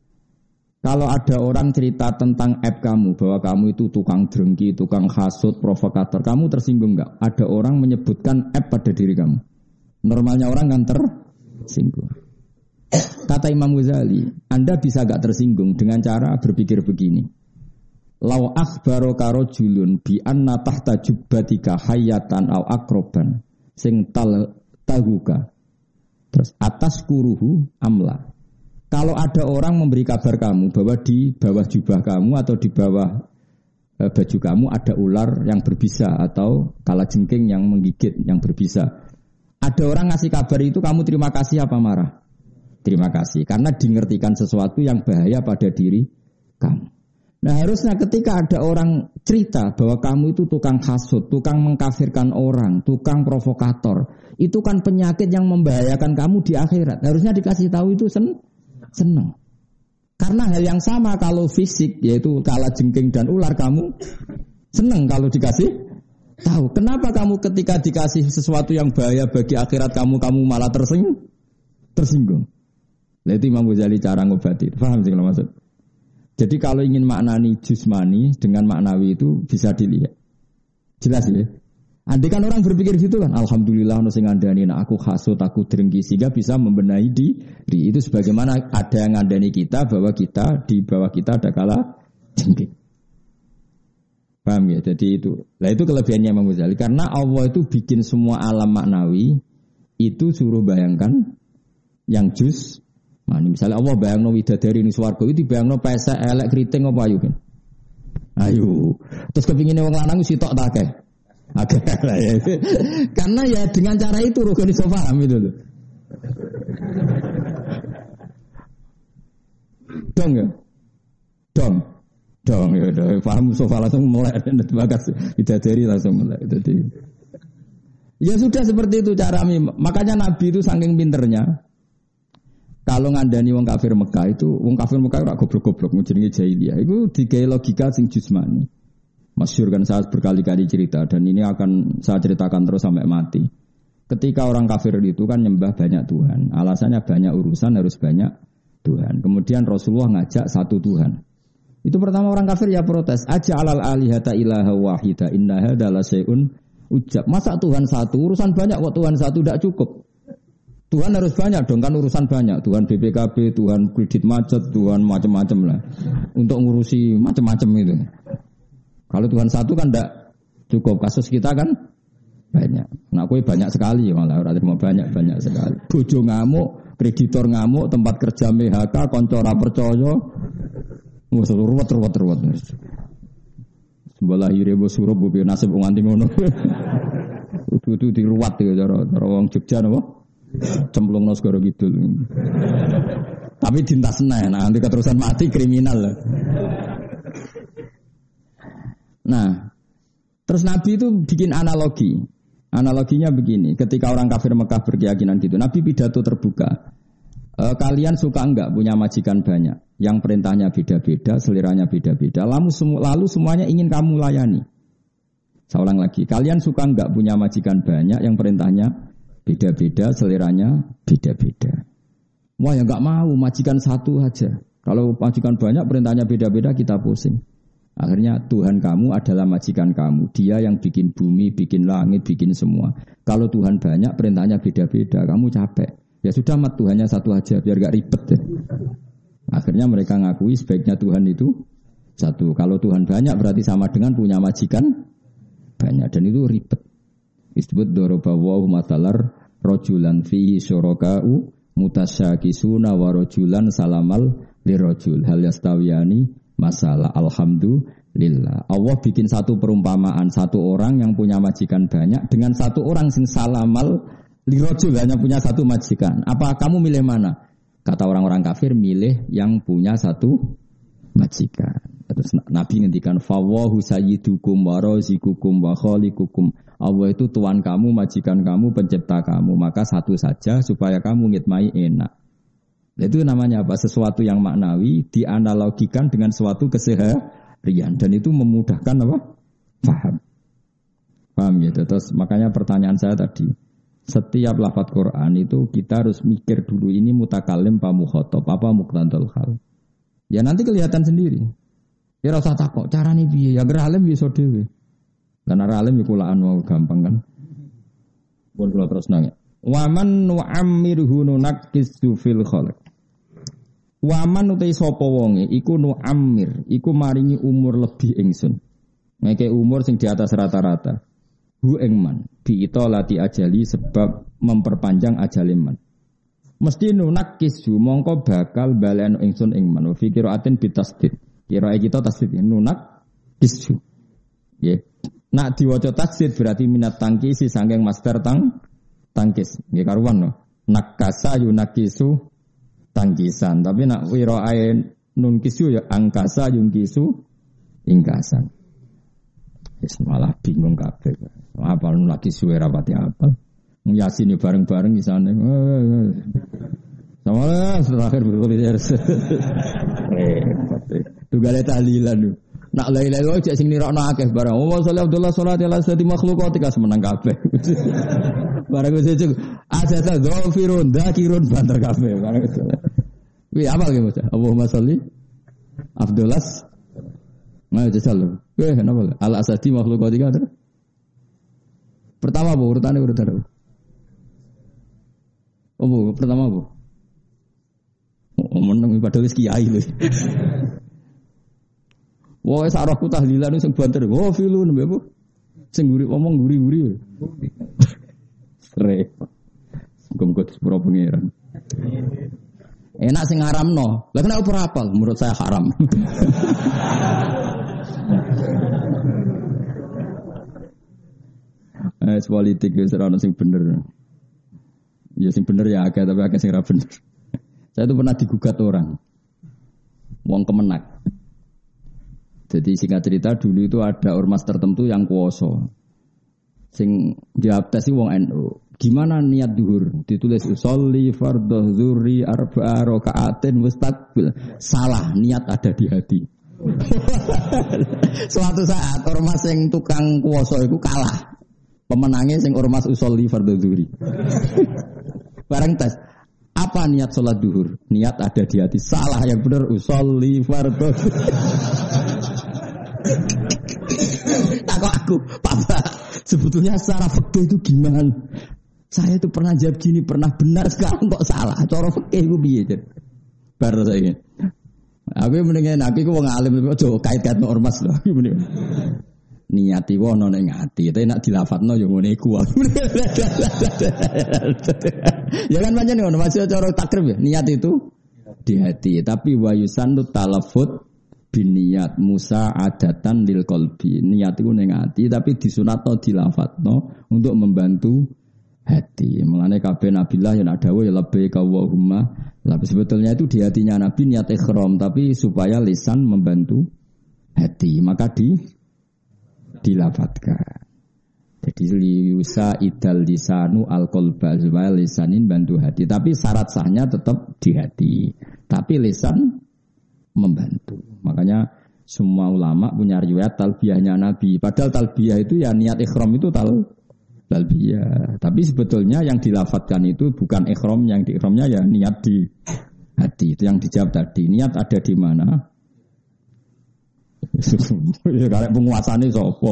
Kalau ada orang cerita tentang app kamu, bahwa kamu itu tukang drengki, tukang hasut, provokator, kamu tersinggung enggak? Ada orang menyebutkan app pada diri kamu. Normalnya orang kan tersinggung. Kata Imam Ghazali, Anda bisa enggak tersinggung dengan cara berpikir begini. Lau akhbaraka rajulun bi anna tahta jubbatika hayatan au akroban sing tahuka. Terus atas kuruhu amla. Kalau ada orang memberi kabar kamu bahwa di bawah jubah kamu atau di bawah baju kamu ada ular yang berbisa atau kalajengking yang menggigit yang berbisa. Ada orang ngasih kabar itu kamu terima kasih apa marah? Terima kasih karena dingertikan sesuatu yang bahaya pada diri kamu. Nah harusnya ketika ada orang cerita bahwa kamu itu tukang hasut, tukang mengkafirkan orang, tukang provokator, itu kan penyakit yang membahayakan kamu di akhirat. Harusnya dikasih tahu itu senang. Karena hal yang sama kalau fisik, yaitu kalajengking dan ular, kamu senang kalau dikasih tahu. Kenapa kamu ketika dikasih sesuatu yang bahaya bagi akhirat kamu malah tersinggung? Nah itu Imam Ghazali cara ngobati. Paham sih kalau maksud? Jadi kalau ingin maknani jusmani dengan maknawi itu bisa dilihat. Jelas ya? Andai kan orang berpikir gitu kan, alhamdulillah ono sing ngandani nek aku hasut, aku drengki sehingga bisa membenahi diri. Itu sebagaimana ada yang ngandani kita bahwa kita di bawah kita ada kala jengking. Paham ya? Jadi itu. Lah itu kelebihannya Imam Ghazali karena Allah itu bikin semua alam maknawi itu suruh bayangkan yang jus. Nah, misalnya Allah bayangno widadari ning swarga itu bayangno pesek elek kriting apa ayu kan? Ayo. Terus kepingine wong lanang sitok ta akeh. Akeh lah ya. Karena ya dengan cara itu roh iso paham itu loh. Dong ya. Dong ya udah paham sofa langsung mulai bagas widadari langsung mulai. Jadi ya sudah seperti itu cara makanya Nabi itu saking pinternya. Kalau ngandani wong kafir Mekah itu, wong kafir Mekah ora goblok-goblok jenenge jahiliyah. Itu digawe logika sing jusmani. Masyhur kan saya berkali-kali cerita dan ini akan saya ceritakan terus sampai mati. Ketika orang kafir itu kan nyembah banyak Tuhan. Alasannya banyak urusan harus banyak Tuhan. Kemudian Rasulullah ngajak satu Tuhan. Itu pertama orang kafir ya protes. Aja'alal alihata ilaha wahida inna hadza la syai'un ujab. Masa Tuhan satu, urusan banyak kok Tuhan satu tidak cukup. Tuhan harus banyak dong kan urusan banyak. Tuhan BPKB, Tuhan kredit macet, Tuhan macam-macam lah. Untuk ngurusi macam-macam itu. Kalau Tuhan satu kan tidak cukup. Kasus kita kan banyak. Nah, kowe banyak sekali malah ora terima banyak sekali. Bojo ngamuk, kreditor ngamuk, tempat kerja PHK, kanca ora percaya. Wes ruwet. Sebelah ire bos surup bu nasib wong nganti ngono. Kudu diruwat ya cara wong Jogja napa? Cemplung segoro gitu. Tapi dintas nah nanti keterusan mati kriminal lah. Nah, terus Nabi itu bikin analogi. Analoginya begini, ketika orang kafir Mekah berkeyakinan gitu, Nabi pidato terbuka. Kalian suka enggak punya majikan banyak, yang perintahnya beda-beda, seliranya beda-beda, lalu semuanya ingin kamu layani. Saya ulang lagi, kalian suka enggak punya majikan banyak, yang perintahnya beda-beda, seliranya beda-beda. Wah ya enggak mau, majikan satu aja. Kalau majikan banyak, perintahnya beda-beda, kita pusing. Akhirnya Tuhan kamu adalah majikan kamu. Dia yang bikin bumi, bikin langit, bikin semua. Kalau Tuhan banyak, perintahnya beda-beda, kamu capek. Ya sudah, mat Tuhannya satu aja, biar gak ribet ya. Akhirnya mereka ngakui sebaiknya Tuhan itu satu. Kalau Tuhan banyak berarti sama dengan punya majikan banyak dan itu ribet. Disebut dorobawahu matalar rojulan fihi syuraka'u mutasyakisuna wa rojulan salamal lirojul hal yastawiyani masalah alhamdulillah. Allah bikin satu perumpamaan satu orang yang punya majikan banyak dengan satu orang sing salamal lirojul hanya punya satu majikan. Apa kamu milih mana? Kata orang-orang kafir milih yang punya satu majikan. Terus Nabi ngendikan fawahu sayyidukum wa razikukum wa khaliqukum. Allah itu tuan kamu, majikan kamu, pencipta kamu. Maka satu saja supaya kamu ngitmai enak. Itu namanya apa? Sesuatu yang maknawi dianalogikan dengan suatu keseharian dan itu memudahkan apa? Paham gitu. Terus makanya pertanyaan saya tadi, setiap lafaz Quran itu kita harus mikir dulu ini mutakalim apa mukhatab, apa muqtadal hal. Ya nanti kelihatan sendiri. Ya rasa takok, carane piye? Ya alim iso dhewe. Lan alim iku kulaan mau gampang kan. Pun kula terus nang. Wa man nu'ammirhu nunaqqisu fil khalq. Waman utai sapa wonge iku nu'ammir, iku maringi umur lebih ingsun. Ngeke umur sing di atas rata-rata. Hu ing man, bi itolati ajali sebab memperpanjang ajale man. Mesti nunaqqisu mongko bakal balen ingsun ing man. Fi qiraatin bitasdid. Qiraat kita tasdid nunaqqisu. Nggih. Nak diwaca tasdid berarti minat tangkisi saking master tangkis. Nggih karuan no. Nakasa yunaqisu tangkisan, tapi nak wiraae nun kisu ya angkasa yung kisu ingkasan. Wis malah bingung kabeh. Apa nun lagi suwe rapati apa? Yasin bareng-bareng di sana. Sama terakhir berkuliah. Tugale tahlilan. Nak la ilaha illallah cek sing nirokno akeh barang. Wa sallallahu alaihi wasallam ala sadi makhluqat kas menang kabeh. Barang wis cek asata dzafirun dzakirun banter kabeh barang itu. Wi apa ge Mas? Allahumma sholli afdalas ma jasallu. Weh kenapa? Ala asadi makhluqat tiga. Pertama apa urutannya urutan apa? Oh, pertama apa? Oh, meneng padahal wis kiai lho. Wah, sarahku tahlilan sing banter. Oh, filun mbek apa? Sing guri ngomong guri-guri. Sre. Gum-gum sepuro pangeran. Enak sing ngaramno. Lah kenapa ora hafal? Menurut saya haram. Politik wis ora ono sing bener. Ya sing bener ya akeh tapi akeh sing ora bener. Saya itu pernah digugat orang. Wong Kemenak. Jadi singkat cerita dulu itu ada ormas tertentu yang kuoso. Sing jawab tes wong NU. Gimana niat duhur? Ditulis usolli fardhu dzuri arba'a raka'atin mustaqbil. Salah, niat ada di hati. Suatu saat ormas yang tukang kuoso itu kalah. Pemenangnya sing ormas usolli fardhu dzuri. Bareng tes. Apa niat sholat duhur? Niat ada di hati. Salah, yang benar usolli fardhu. Takut aku, Papa. Sebetulnya secara fikih itu gimana? Saya itu pernah jawab gini, pernah benar, sekarang kok salah. Cara fikih itu piye, Jen? Baru saya. Aku mendingan aku wong alim aja kait-kait ormas lho. Niati wono ning ati, tapi nek dilafatno ya ngene iku. Ya kan pancen ngono, masih cara takrib ya. Niat itu di hati, tapi wa yusannu talaffut biniat Musa adatan lil qalbi. Niat itu ning ati tapi disunatno dilafatno untuk membantu hati. Mulane kabeh nabilah yang ada ya labbaik Allahumma. Tapi sebetulnya itu di hatinya Nabi niat ikhram tapi supaya lisan membantu hati, maka dilafatkan. Jadi liusa idal lisanu al-qalba supaya lisanin bantu hati. Tapi syarat sahnya tetap di hati. Tapi lisan membantu. Makanya semua ulama punya riwayat talbiyahnya Nabi. Padahal talbiyah itu ya niat ikhram itu talbiyah. Tapi sebetulnya yang dilafatkan itu bukan ikhram, yang di ikhramnya ya niat di hati. Itu yang dijawab tadi. Niat ada di mana? Ya karek penguasane sapa?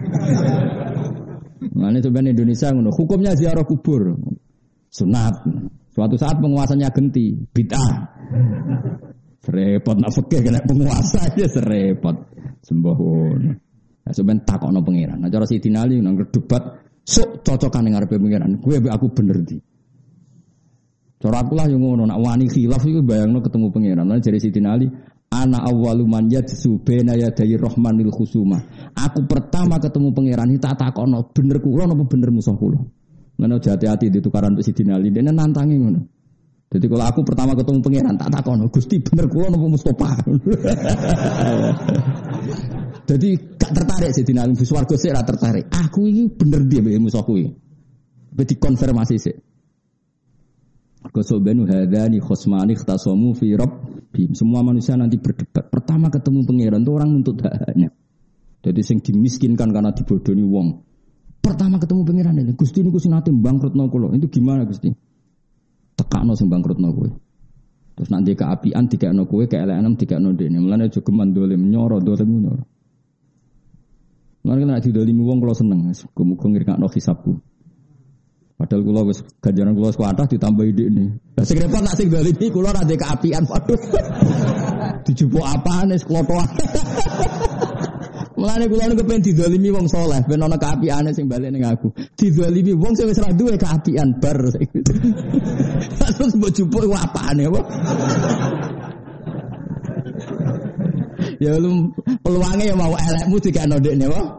Nah ini sebenarnya Indonesia ngono. Hukumnya ziarah kubur sunat. Suatu saat penguasanya genti bid'ah. Serepot nak fikih kena penguasa aja serepot. Sembahun. Nah, sampeyan takokno pangeran. Nah cara Sidina Ali nang debat sok cocokan ning ngarepe pangeran. Gue aku bener di. Cara aku lah yang ngono, nak wani khilaf iku bayangno ketemu pangeran. Lah jare Sidina Ali, ana awwalu man yadsu baina yaday rahmanil khusuma. Aku pertama ketemu pangeran iki tak takokno, bener kula napa bener musuh kula. Ngono hati-hati ditukaran mbek Sidina Ali, dene nantangi ngono. Jadi kalau aku pertama ketemu pangeran tak takokno, Gusti bener kula napa Mustofa. Jadi gak tertarik Sidina Ali swarga sik ora tertarik. Aku iki bener dia mbek musuhku iki. Wis dikonfirmasi sik. Qasobanu hadani khosmani ikhtasamu fi rabbihim. Semua manusia nanti berdebat. Pertama ketemu pangeran itu orang nuntut haknya. Jadi sing dimiskinkan karena dibodohi wong. Pertama ketemu pangeran ini, Gusti niku sing nate bangkrutno kula. Itu gimana Gusti? Tekakno sing bangkrutno kowe. Terus nanti keapian dikakno kowe, keelekan dikakno dene. Mulane aja geman dolim nyoro. Mulane nek didolimi wong kula seneng. Muga-muga ngirkakno hisabku. Padahal kula wis ganjaran kula kuatah ditambahi dhekne. Lah sing repot nak sing dolimi kula ra ndek keapian waduh. Dijupuk apane seklotoan. Mulane kula niku pengen didolimi wong saleh, ben ana keapiane sing balik ning aku. Didolimi wong sing wis ra duwe keapian bar. Terus mbok jupuk iku apane apa? Ya lu peluange ya mau elekmu dikene ndekne wae.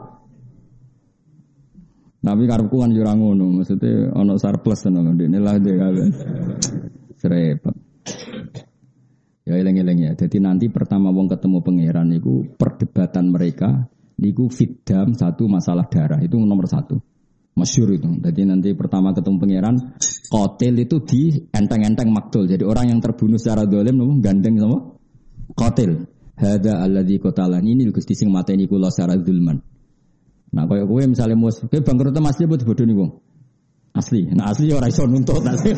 Tapi karepku kan yo ora ngono, maksudnya ana surplus tenan ndekne lah dhek kabeh. Serepet. Ya eleng-eleng ya. Jadi nanti pertama wong ketemu pangeran niku perdebatan mereka niku fitdam satu masalah darah itu nomor satu. Masyhur itu. Jadi nanti pertama ketemu pangeran qatil itu di enteng-enteng maktul. Jadi orang yang terbunuh secara zalim nopo gandeng sama qatil. Hadza alladzi qatalani ini Gusti sing mateni kula secara zulman. Nah kaya kowe misale mus kowe bangkrut asli apa dibodoni wong? Asli. Nah asli ora iso nuntut asli.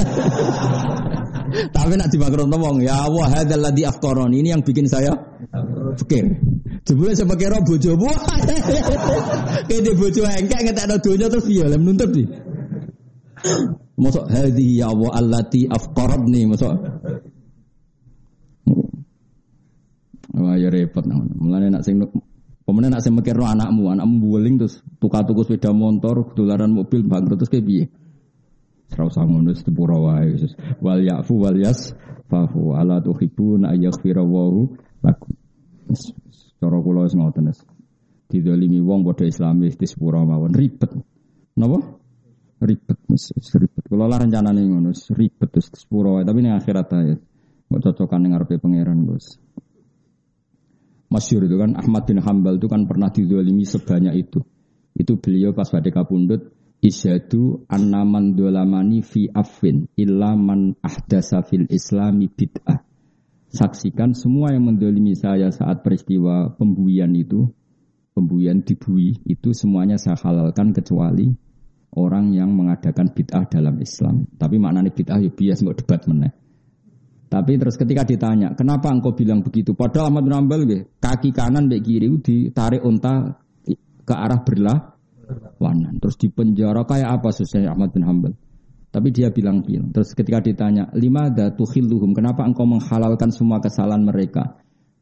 Tapi nak dibangkrutno wong ya Allah hadzal ladzi afqarani ini yang bikin saya fikir. Jebule sampe kira bojomu. Kene bojo engkek ngetekno donya terus piye lem nuntut iki. Mosok hadhi ya Allah allati afqaradni mosok. Wah ya repot nang. Mulane nak sing pemene nak sing mikirno anakmu buweling terus tuku sepeda motor, dolaran mobil bangkrut terus kayak piye? Ora usah ngono sepura wae Yesus. Wal ya'fu wal yasfahu ala tuhibbuna ayaghfira Allahu lakum. Cara kula wis ngoten wis. Didolimi wong padha Islamis di sepura mawon ribet. Napa? Ribet wis ribet. Kula lah rencanane ngono ribet terus sepura wae tapi ning akhirat ae. Kok cocokan ning ngarepe pangeran, Gus. Masyhur itu kan Ahmad bin Hanbal itu kan pernah dizalimi sebanyak itu. Itu beliau pas badhe kapundhut isyadu annaman dolamani fi afwin illa man ahdasa fil islami bid'ah. Saksikan semua yang mendolimi saya saat peristiwa pembuian itu, pembuian dibui itu semuanya saya halalkan kecuali orang yang mengadakan bid'ah dalam Islam. Tapi maknanya bid'ah ya bias nggak debat meneh. Tapi terus ketika ditanya, kenapa engkau bilang begitu? Padahal Ahmad bin Hanbal kaki kanan mbek kiri ditarik unta ke arah berlawanan. Terus dipenjara kayak apa susahnya Ahmad bin Hanbal? Tapi dia bilang. Terus ketika ditanya, limadza tukhilluhum? Kenapa engkau menghalalkan semua kesalahan mereka?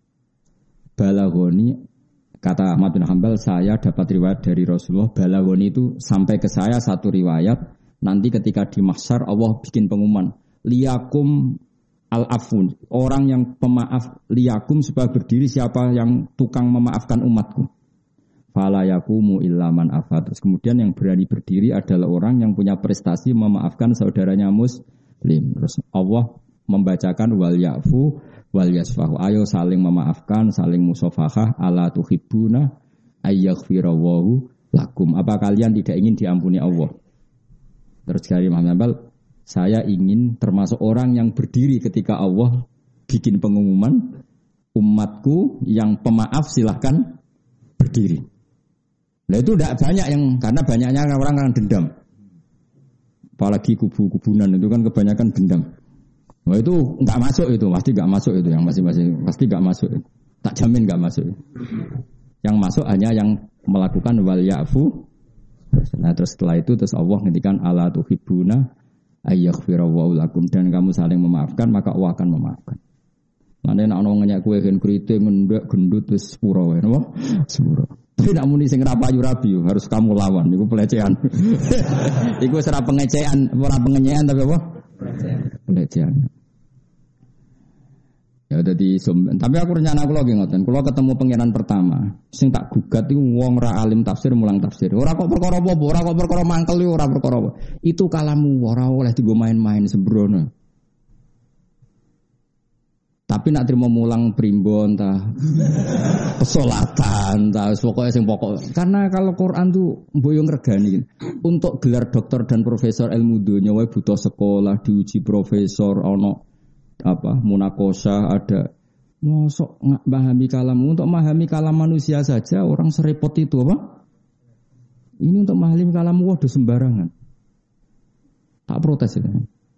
Balaghoni, kata Ahmad bin Hanbal, saya dapat riwayat dari Rasulullah. Balaghoni itu sampai ke saya satu riwayat. Nanti ketika di mahsyar Allah bikin pengumuman, liyakum al-afun, orang yang pemaaf liyakum supaya berdiri siapa yang tukang memaafkan umatku. Fala yakumu illa man afa. Terus kemudian yang berani berdiri adalah orang yang punya prestasi memaafkan saudaranya muslim. Terus Allah membacakan wal yafu wal yasfahu. Ayo saling memaafkan, saling musafahah, ala tuhibbuna ayyaghfirallahu lakum. Apa kalian tidak ingin diampuni Allah? Terus dari Imam Hanbal, saya ingin termasuk orang yang berdiri ketika Allah bikin pengumuman umatku yang pemaaf silahkan berdiri. Nah itu tidak banyak yang karena banyaknya orang yang dendam. Apalagi kubu-kubunan itu kan kebanyakan dendam. Nah itu enggak masuk itu, pasti enggak masuk itu yang masing-masing pasti enggak masuk. Tak jamin enggak masuk. Yang masuk hanya yang melakukan wal ya'fu. Nah terus setelah itu terus Allah ngendikan ala tuhibbuna ayyaghfirallahu lakum, dan kamu saling memaafkan maka Allah akan memaafkan. Lan nek ana ngenyak kowe gen kriting ngendek gendut wis sepuro wae napa? Sepuro. Tapi nak muni sing rapayu rabi harus kamu lawan. Iku pelecehan. Iku ora pengecehan, ora pengenyean tapi apa? Pelecehan. Ya dadi tapi aku rencana kula nggih ngoten. Kula ketemu pangeran pertama, sing tak gugat iku wong ra alim tafsir mulang tafsir. Ora kok perkara apa, ora kok perkara mangkel ora perkara apa. Itu kalamu ora oleh digo main-main sembrono. Tapi nak terima mulang primbon ta pesolatan ta pokoke sing pokok. Karena kalau Quran tuh mboyong regani. Untuk gelar doktor dan profesor ilmu dunya wae butuh sekolah, diuji profesor ono apa munakosa ada mosok memahami kalam untuk memahami kalam manusia saja orang serepot itu apa ini untuk memahami kalam waduh sembarangan tak protes ya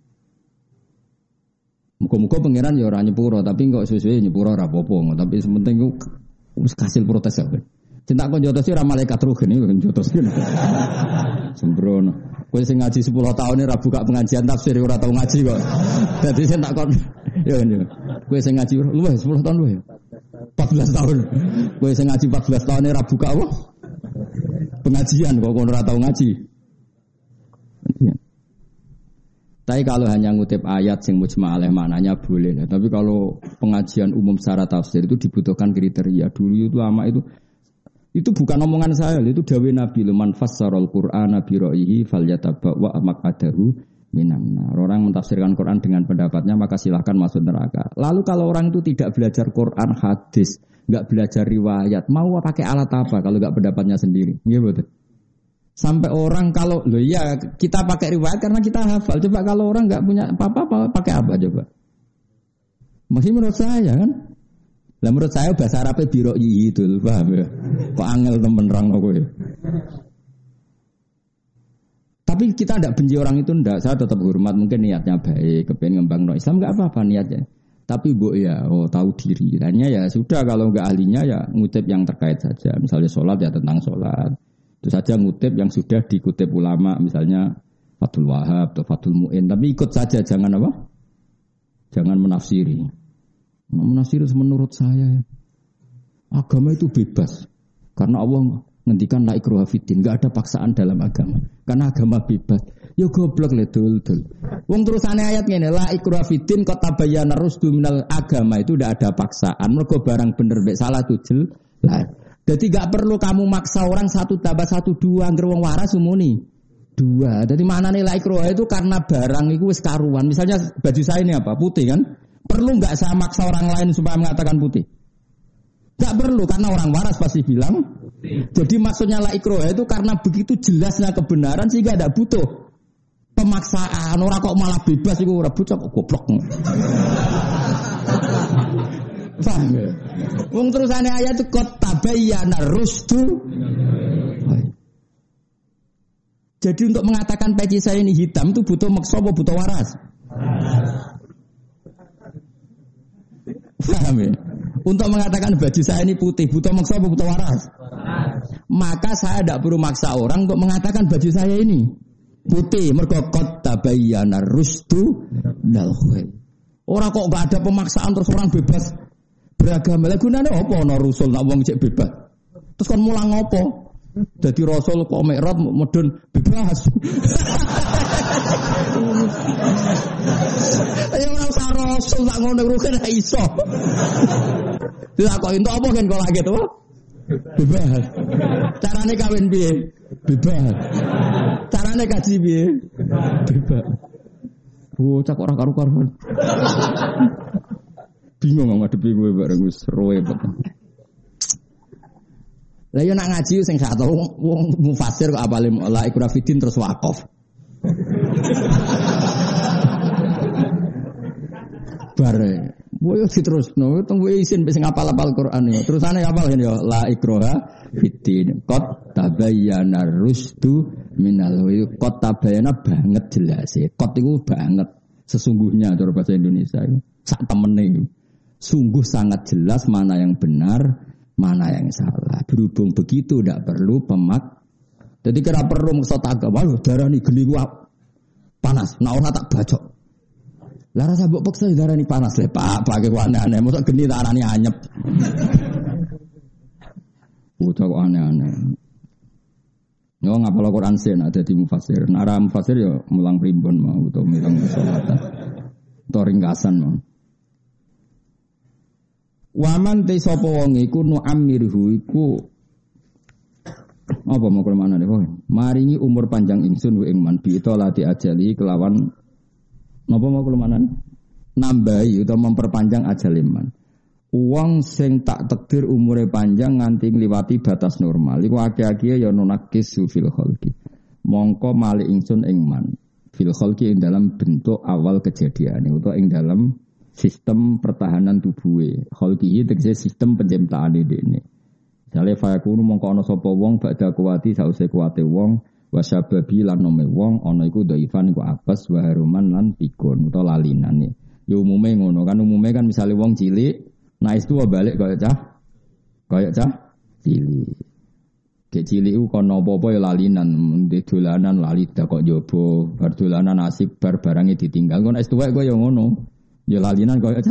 muka-muka pangeran ya orang nyepuro tapi kok sesuai nyepuro rapopo tapi sementing itu hasil protes ya cinta kau jotos sih malaikat ruh ini kan jotos kan sembrono. Kowe sing ngaji 10 tahun ini ra buka pengajian tafsir ora tau ngaji kok. Dadi sing tak kon ya ngene. Kowe sing ngaji luwih 10 tahun luwih. 14 tahun. Kowe sing ngaji 14 tahun ini ra buka apa? Pengajian kok ora tau ngaji. Ya. Tapi kalau hanya ngutip ayat sing mujma' alaih maknanya boleh. Tapi kalau pengajian umum secara tafsir itu dibutuhkan kriteria. Dulu itu lama itu bukan omongan saya, itu dawuh Nabi man fassarul Qur'ana bi ra'yihi falyatabawwa maq'adahu minan nar. Orang mentafsirkan Quran dengan pendapatnya maka silahkan masuk neraka. Lalu kalau orang itu tidak belajar Quran hadis, enggak belajar riwayat, mau pakai alat apa kalau enggak pendapatnya sendiri? Nggih betul. Sampai orang kalau ya kita pakai riwayat karena kita hafal. Coba kalau orang enggak punya apa-apa pakai apa coba? Masih menurut saya kan? Lah menurut saya bahasa Arabnya biroi itu, paham ya? Kok angel temen rang aku ya. Tapi kita tidak benci orang itu ndak, saya tetap hormat mungkin niatnya baik, kepengen ngembang Islam enggak apa-apa niatnya. Tapi bu ya, tahu diri. Hanya ya sudah kalau enggak ahlinya ya ngutip yang terkait saja. Misalnya sholat ya tentang sholat. Itu saja ngutip yang sudah dikutip ulama, misalnya Fathul Wahab atau Fathul Mu'in. Tapi ikut saja, jangan apa? Jangan menafsiri. Menafsir menurut saya agama itu bebas karena Allah ngendikan la ikraha fiddin, enggak ada paksaan dalam agama karena agama bebas. Ya goblok le dul. Wong terusane ayat ngene la ikraha fiddin qad tabayyana rusdu minal agama itu tidak ada paksaan. Mergo barang bener mek salah itu jelas. Jadi enggak perlu kamu maksa orang 1 tambah 1 2 angger wong waras umuni 2. Jadi maknane la ikraha itu karena barang itu wis karuan. Misalnya baju saya ini apa? Putih kan? Perlu enggak saya maksa orang lain supaya mengatakan putih? Enggak perlu karena orang waras pasti bilang. Jadi maksudnya la ikraha itu karena begitu jelasnya kebenaran sehingga tidak butuh pemaksaan. Orang kok malah bebas iku ora bocah kok goblok. Paham ya? Wong terusane ayat itu qad tabayyana rusdu. Jadi untuk mengatakan peci saya ini hitam itu butuh maksa apa butuh waras? Paham ya? Untuk mengatakan baju saya ini putih, butuh maksa apa butuh waras? Maka saya tidak perlu maksa orang untuk mengatakan baju saya ini putih. Mergo qad tabayyana rusdu minal ghayy. Orang kok enggak ada pemaksaan terus orang bebas beragama. Lah gunane apa ana rasul nak wong cek bebas? Terus kon mulang apa? Jadi rasul kok mikrot medun bebas. Ayo ora usah rasul tak ngono rugen ra iso. Dilakoki entuk apa kan kok lagi to? Bebas. Carane kawin piye? Bebas. Carane kaji piye? Bebas. Cak ora karu-karuan. Bingung ngadepi kowe bareng wis roe betul. Lah yo nak ngaji sing gak tau wong mufasir kok apale la ikrah fiddin terus wakaf. Bare. Boyo diterusno, tunggu isin wis ngapal-apal Quran ya. Terusane apal ya la ikraha fiddin. Qad tabayyana rusdu minal ghayy. Qad tabayyana banget jelas e. Qad iku banget sesungguhnya cara bahasa Indonesia itu. Sak temene. Sungguh sangat jelas mana yang benar, mana yang salah. Berhubung begitu tidak perlu pemak. Jadi kira perlu maksud agama darani geni ku panas. Nah ora tak bacok. Lah rasa mbok peksa darani panas le Pak, pakai ku aneh-aneh. Mosok geni tak arani anyep. Udah kok aneh-aneh. Yo ngapal Quran sih ada di mufasir. Nara mufasir yo mulang primbon mau utawa mulang sholatan. Utawa ringkasan mau. Waman te sapa wong iku nu amirhu iku apa mau kemana nih? Maringi umur panjang ingsun wa ing man bi lati ajali kelawan napa mau kemana nih? Nambahi utawa memperpanjang ajal iman. Uang sing tak takdir umure panjang nganti ngliwati batas normal. Iku akeh-akeh ya nunakis fil khalqi. Mongko mali ingsun ing man fil khalqi ing dalam bentuk awal kejadian utawa ing dalam sistem pertahanan tubuhe. Khalqi tegese sistem penciptaane dene. Jale fayakunu mongko ana sapa wong badha kuwati sause kuwate wong wasababi lan nome wong ana iku dhaifan iku apes wa haruman lan pikun utawa lalinane. Ya umume ngono kan misale wong cilik nah itu balik kaya cah cilik. Kayak cilik ku kono apa-apa ya lalinan, ndek dolanan lali dak kok njaba, bar dolanan asik bar barange ditinggal. Ngono es tuwek kok ya ngono. Ya lalinan kaya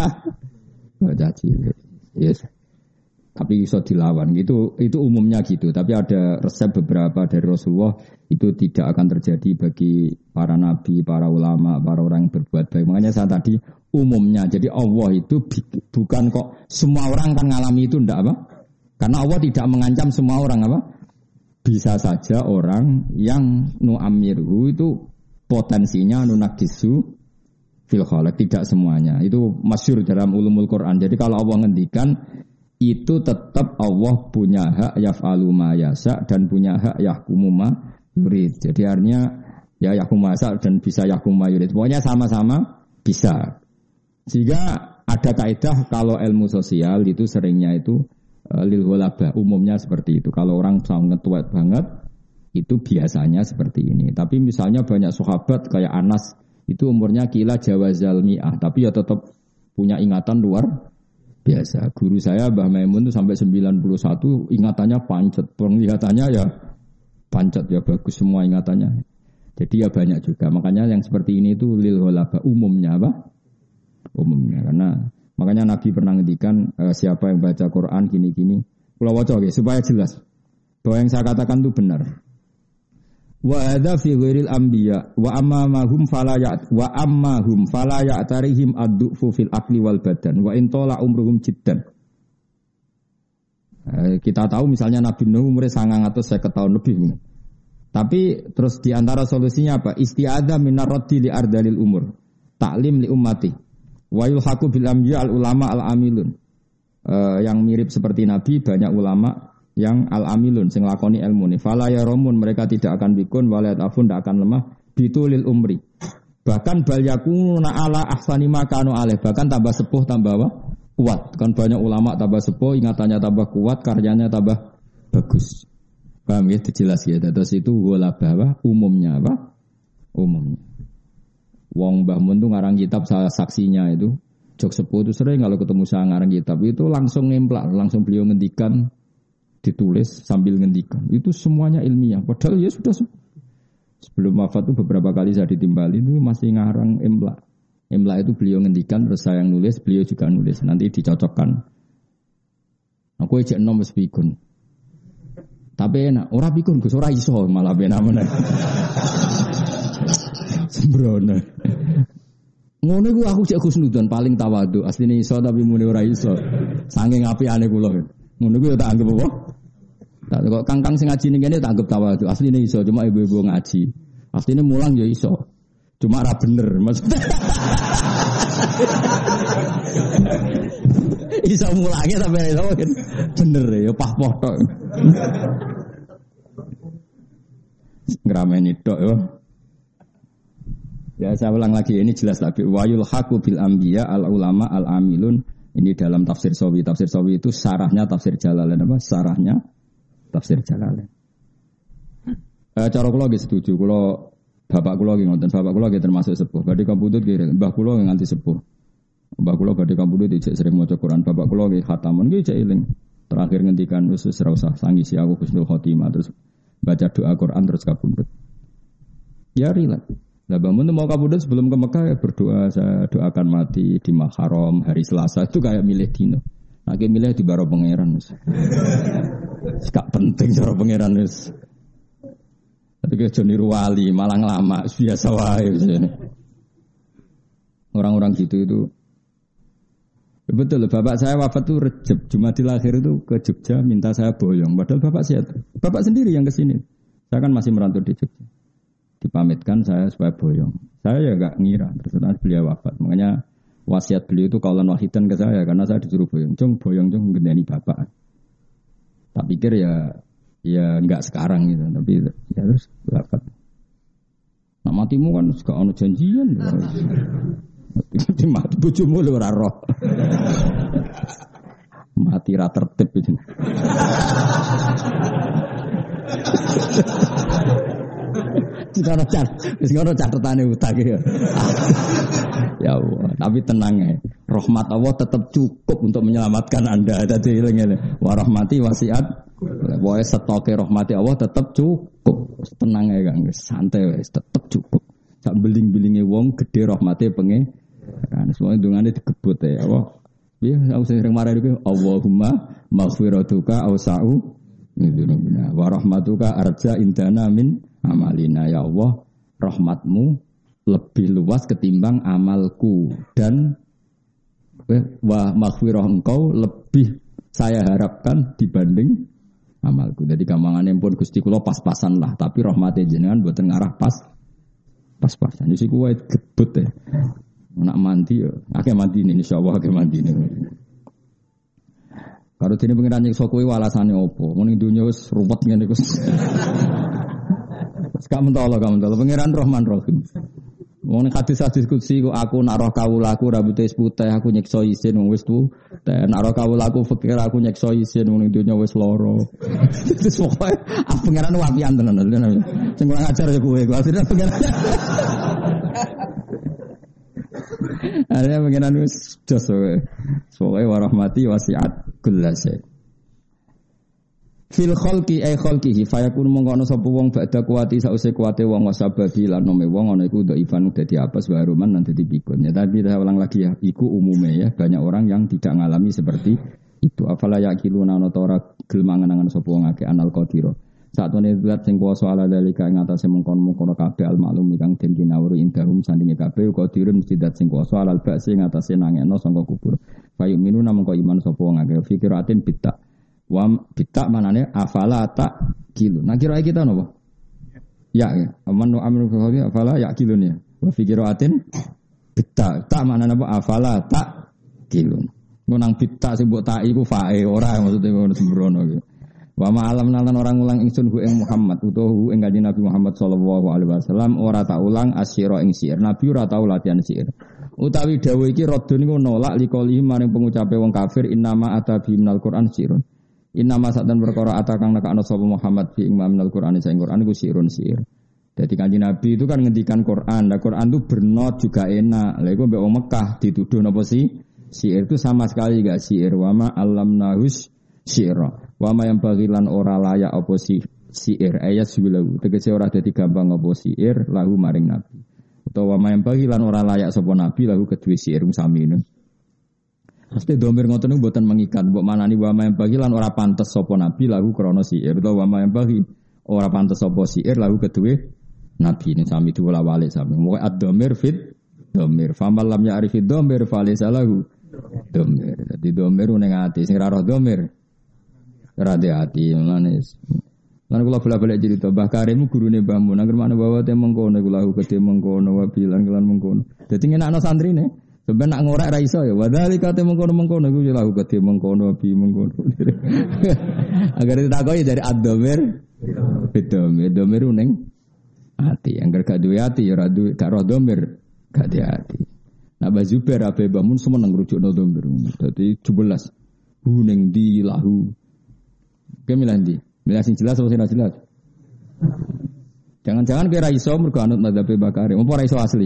cah cilik. Yes. Tapi iso dilawan gitu, itu umumnya gitu. Tapi ada resep beberapa dari Rasulullah itu tidak akan terjadi bagi para nabi, para ulama, para orang yang berbuat baik. Makanya saya tadi umumnya. Jadi Allah itu bukan kok semua orang kan ngalami itu ndak apa? Karena Allah tidak mengancam semua orang apa? Bisa saja orang yang nu'amirhu itu potensinya nunakisu fil khalaq, tidak semuanya. Itu masyhur dalam ulumul Quran. Jadi kalau Allah ngendikan itu tetap Allah punya hak yaf'alu ma yasha dan punya hak yahkumu ma yurid. Jadi artinya ya yahkumu ma yasha dan bisa yahkumu ma yurid. Pokoknya sama-sama bisa. Sehingga ada kaidah kalau ilmu sosial itu seringnya itu lil ghalabah, umumnya seperti itu. Kalau orang sangat tua banget itu biasanya seperti ini. Tapi misalnya banyak sahabat kayak Anas itu umurnya kila jawazal mi'ah, tapi ya tetap punya ingatan luar biasa. Guru saya Mbah Maimun itu sampai 91 ingatannya pancet, penglihatannya ya pancet ya bagus semua ingatannya. Jadi ya banyak juga. Makanya yang seperti ini itu lil ghalabah umumnya apa? Umumnya karena makanya Nabi pernah ngendikan siapa yang baca Quran gini-gini. Kula waca nggih supaya jelas bahwa yang saya katakan itu benar. Wa hadza fi ghairil anbiya wa ammahum fala ya'tarihim ad-du'fu fil aqli wal badan wa in tala umruhum jiddan. Kita tahu misalnya Nabi Nuh umurnya 950 tahun lebih. Tapi terus di antara solusinya apa? Isti'adzah minar raddi li ardalil umur. Ta'lim li ummati. Wa yulhaqu bil anbiya al ulama al amilun. Yang mirip seperti Nabi banyak ulama yang al-amilun sing lakoni ilmu ni fala yarumun mereka tidak akan bikun walayat afun tidak akan lemah bitulil umri bahkan bal yakuna ala ahsani ma kanu alaih bahkan tambah sepuh tambah apa? Kuat kan banyak ulama tambah sepuh ingatannya tambah kuat karyanya tambah bagus. Paham ya jelas ya terus itu ghalabah apa umumnya apa umumnya wong Mbah Mun tuh ngarang kitab salah saksinya itu jok sepuh itu sering kalau ketemu saya ngarang kitab itu langsung nemplak langsung beliau ngendikan ditulis sambil ngendikan. Itu semuanya ilmiah. Padahal ya sudah sebelum wafat itu beberapa kali saya ditimbali itu masih ngarang imla. Imla itu beliau ngendikan terus saya yang nulis, beliau juga nulis. Nanti dicocokkan. Aku ejek nom wis pikun. Tapi enak, ora pikun Gus, ora iso malah benar-benar. Sembrono. Ngono iku aku cek husnudzon paling tawadhu. Asline iso tapi muni ora iso. Saking apiane kula. Ngono iku ya tak anggap apa? Tak kok kangkang sing ngaji ning kene tak anggap tawadhu. Asline iso cuma ibu-ibu ngaji. Asline mulang ya iso. Cuma ra bener maksudnya. Iso mulange tapi iso bener ya pah-poh tok. Ngrameni tok ya. Ya saya ulang lagi ini jelas lagi wayul haqu bil anbiya al ulama al amilun ini dalam tafsir Sawi. Tafsir Sawi itu sarahnya tafsir Jalalain apa? Sarahnya tafsir Jalalain. Cara kula nggih setuju. Kula bapak kula nggih ngoten, bapak kula nggih termasuk sepuh. Badhe kabudut nggih, mbah kula nganti sepuh. Mbah kula badhe kabudut ijek sering maca Quran. Bapak kula nggih khatamun nggih ijek eling. Terakhir ngendikan wis ora usah sangisi aku husnul khotimah terus baca doa Quran terus kabudut. Ya rilat. Nah, bangun mau kabudut sebelum ke Mekah ya berdoa saya doakan mati di Muharram hari Selasa itu kayak milih dino. Nah, kayak milih di Baro Pangeran. Gak penting cara pangeran wis. Tapi ke Joni Ruwali malah lama biasa wae. Orang-orang gitu itu betul, bapak saya wafat tuh Rejab, Jumadil Akhir itu ke Jogja minta saya boyong. Padahal bapak sehat. Bapak sendiri yang kesini. Saya kan masih merantau di Jogja. Dipamitkan saya supaya boyong. Saya ya gak ngira, terus beliau wafat. Makanya wasiat beliau itu kaulan wahidan ke saya karena saya disuruh boyong. Boyong gendani bapak. Tak pikir ya enggak sekarang gitu, tapi ya terus wafat. Nah matimu kan gak ono janjian. Mati bojomu lho ora roh. Mati ra tertib itu. Sekarang catetane utang ya. Ya Allah, tapi tenang ya. Rahmat Allah tetap cukup untuk menyelamatkan Anda. Dadi eling-eling. Wa rahmati wasiat. Wae setoke rahmati Allah tetap cukup. Tenang ya Kang, santai wis tetap cukup. Sak beling-belinge wong gede rahmate pengen. Kan semua dungane digebut ya Allah. Piye aku sering marah iku Allahumma maghfiratuka awsa'u midunubina wa rahmatuka arja indana min amalina ya Allah, rahmatmu lebih luas ketimbang amalku dan wa maghfirah engkau lebih saya harapkan dibanding amalku. Jadi gampangane pun Gusti kula pas-pasan lah, tapi rahmate jenengan mboten ngarah pas-pasan. Jadi kuwi gebut ya. Nak mandi ya, akeh mandi ini insyaallah akeh mandi ini. Karo dene pengiran nyiksa kowe alasane opo? Muni dunya wis ruwet ngene iku. Gak mentolo pengiran Rahman Rahim. Wong hadis-hadis kutsi aku nak roh kawulaku rambute wis putih aku nyiksa isin wong wis tuwek. Nak roh kawulaku fakir aku nyiksa isin wong dunya wis lara. Terus pokoke pengiran wapian tenan. Sing kurang ajar ya kowe. Akhirnya pengiran ada pengenan wis jos wae. Soale warahmati wasiat kullase. Fil khalqi ay khalqihi fayakun mongko ana sapa wong badha kuwati sause kuwate wong wasababi lan nome wong ana iku dhaifan dadi apes waruman lan dadi pikun. Ya tapi saya ulang lagi ya, iku umume ya banyak orang yang tidak ngalami seperti itu. Afala yaqiluna ana ta ora gelem mangan-mangan sapa wong akeh anal qadira. Satune zat sing kuwasa ala dalika ing atase mengkon-mengkon kabeh al-maklum kang den kinawuri indahum sandinge kabeh uga dirun mesti zat sing kuwasa alal ba'si ing atase nangekno sangka kubur. Fayu minuna mengko iman sapa wong akeh fikiratin bitta. Wa bitta manane afala tak kilu. Nah kira kita napa? Ya. Aman amru fi afala ya kilun ya. Wa fikiratin bitta. Tak manane apa afala tak kilun. Nang bitta sing mbok tak iku fae ora maksude ngono sembrono iki. Wa ma'alam nalan orang ulang ingsun hu ing Muhammad utawa hu ing kanjeng Nabi Muhammad sallallahu alaihi wasallam ora tak ulang asyira ing syair. Nabi ora tau latihan syair. Utawi dawuh iki radun niku nolak likoli maring pengucape wong kafir innama atabi minal Qur'an syairun. Innama satan perkara atakang nekakno sapa Muhammad fi ing minal Qur'an sing Qur'an iku syairun syair. Jadi kanjeng Nabi itu kan ngendikan Qur'an. Lah Qur'an itu bernot juga enak. Lah iku mbek wong Mekah dituduh napa sih? Syair itu sama sekali enggak syair. Wa ma allamnahus syaira. Wama yang bagilan ora layak apa syair ayat suwilahu tegese ora dadi gampang apa syair lahu maring nabi utawa wama yang bagilan ora layak sapa nabi lahu kedue syair sami ngono. Pasti domir ngoten niku mboten mengikat mbok manani wama yang bagilan ora pantes sapa nabi lahu krana syair utawa wama yang bagi ora pantes sapa syair lahu kedue nabi ini sami diwolak-walik sami. Moga ad-domir fit domir famal lam ya'rifid domir falaysa lahu domir. Dadi domir ning ati sing ra roh domir hati manis. Lan kula bola-balik cerita Mbah Karim gurune Mbah Mun nang mana bawa te mengkono kula gede mengkono wabilan kelan mengkono. Dadi ngenakno santrine. Sampe nak ngorek ra iso ya wadhalika te mengkono iku ya gede mengkono wabi mengkono. Agar ditakoki dari ad-dhamir domir ning ati. Angger gak duwe ati ya ora duwe gak roh domir gak di ati. Nah Mbah Zubair ape Mbah Mun semeneng rujukno domir. Dadi 17 ning di lahu. Milih ndi? Milih sing jelas atau sing jelas? Jangan-jangan kira iso mergo anut mazhab Bakari, apa ora iso asli.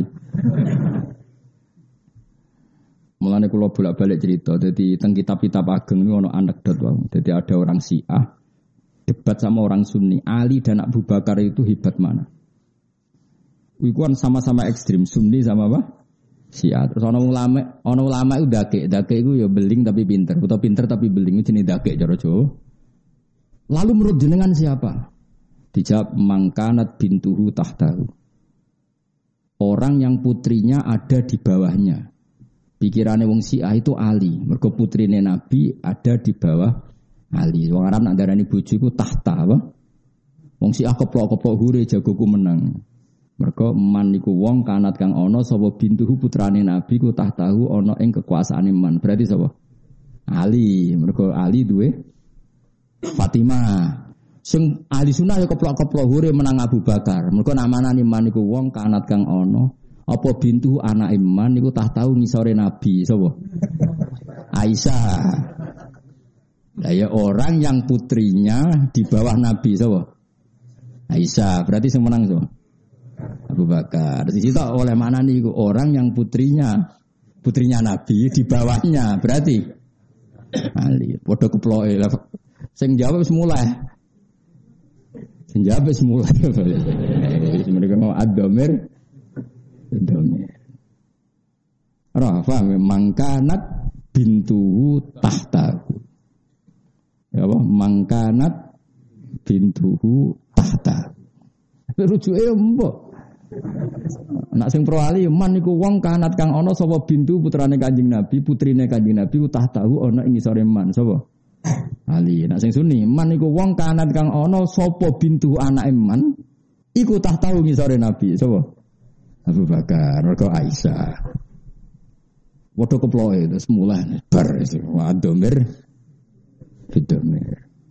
Mulane kula bolak-balik cerita, dadi teng kitab-kitab ageng niku ana anekdot wae. Dadi ada orang Syiah debat sama orang Sunni, Ali dan Abu Bakar itu hebat mana? Iku kan sama-sama ekstrim, Sunni sama apa? Syiah. Terus ana ulama itu dake iku ya beling tapi pinter, utawa pinter tapi beling jenenge dake cara Jawa. Lalu menurut jenengan siapa? Dijawab mangkanat bintuhu tahtahu. Orang yang putrinya ada di bawahnya. Pikirannya wong Syiah itu Ali. Mergo putrine Nabi ada di bawah Ali. Wong Arab nak darani bojo iku tahta apa? Wong Syiah keplok-keplok hure jagoku menang. Mergo man niku wong kanat kang ana sapa bintuhu putrane Nabi ku tahtahu ana ing kekuasaane man. Berarti sapa? Ali. Mergo Ali duwe Fatimah. Sing ahli sunah ya keplok-keplok hure menang Abu Bakar. Mergo namanane man niku wong kanat kang ana apa bintu anak iman niku tahu ngisore Nabi sapa? Aisyah. Lah ya orang yang putrinya di bawah Nabi sapa? Aisyah. Berarti sing menang sapa? Abu Bakar. Di situ oleh mana niku orang yang putrinya Nabi di bawahnya berarti Ali. Padha keploke. Sing jawab wis mulai. Sing jawab wis mulai. Mereka mau ad-dhamir Rafa mangkanat bintuhu tahtahu. Ya apa? Mangkanat bintuhu tahtahu. Rujuke mbok. Nak sing pro ali man niku wong kanat kang ana sapa bintu putrane Kanjeng Nabi, putrine Kanjeng Nabi tahtahu ana ing ngisore man sapa? Ali. Nak sing sunni man niku wong kanat kang ana sapa bintu anake man iku tahtahu ngisore Nabi sapa? Abu Bakar, mergo Aisyah. Waduh keploke terus mulai bar itu wadomir. Bidomir.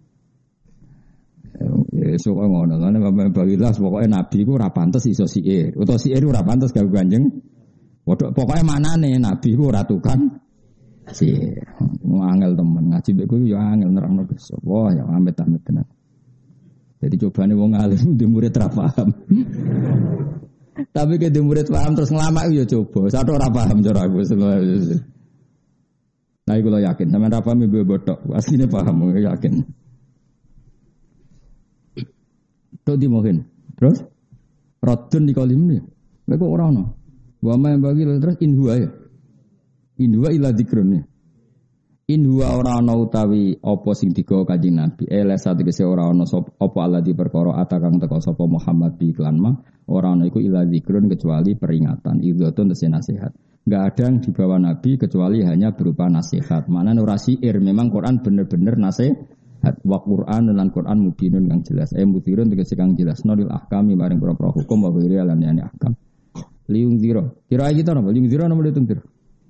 Esuk ngono kan bagilah pokoke Nabi ku ora pantes iso siir. Utawa siir ora pantes gawe Kanjeng. Waduh pokoke manane Nabi ku ora tukang siir. Angel temen ngaji mbek ku yo angel nerangno besok. Wah ya amit-amit tenan. Jadi cobane wong alim di murid ra paham. Tapi ke murid paham terus ngelamak ya coba. Satu ora paham cara aku. Nah iku lo yakin sampean ra paham ibu botok. Asline paham yakin. Tok dimohin. Terus radun dikalim ni. Mek kok ora ono. Wa ma bagi terus inhuwa ya. Inhuwa ila dzikrun ya. Inhuwa ora ana utawi apa sing digawa Kanjeng Nabi. Lesa tegese ora ana apa Allah di perkara atakang teka sapa Muhammad bi iklan mah ora ana iku ila dzikrun kecuali peringatan. Idzatun tese nasihat. Enggak ada yang dibawa Nabi kecuali hanya berupa nasihat. Maknane ora syair, memang Quran bener-bener nasihat. Wa Quran lan Quran mubinun kang jelas. Mudirun tegese kang jelas nolil ahkami maring propro hukum wa wiri lan yani ahkam. Liung ziro. Kira kita napa? Liung ziro napa litung ziro?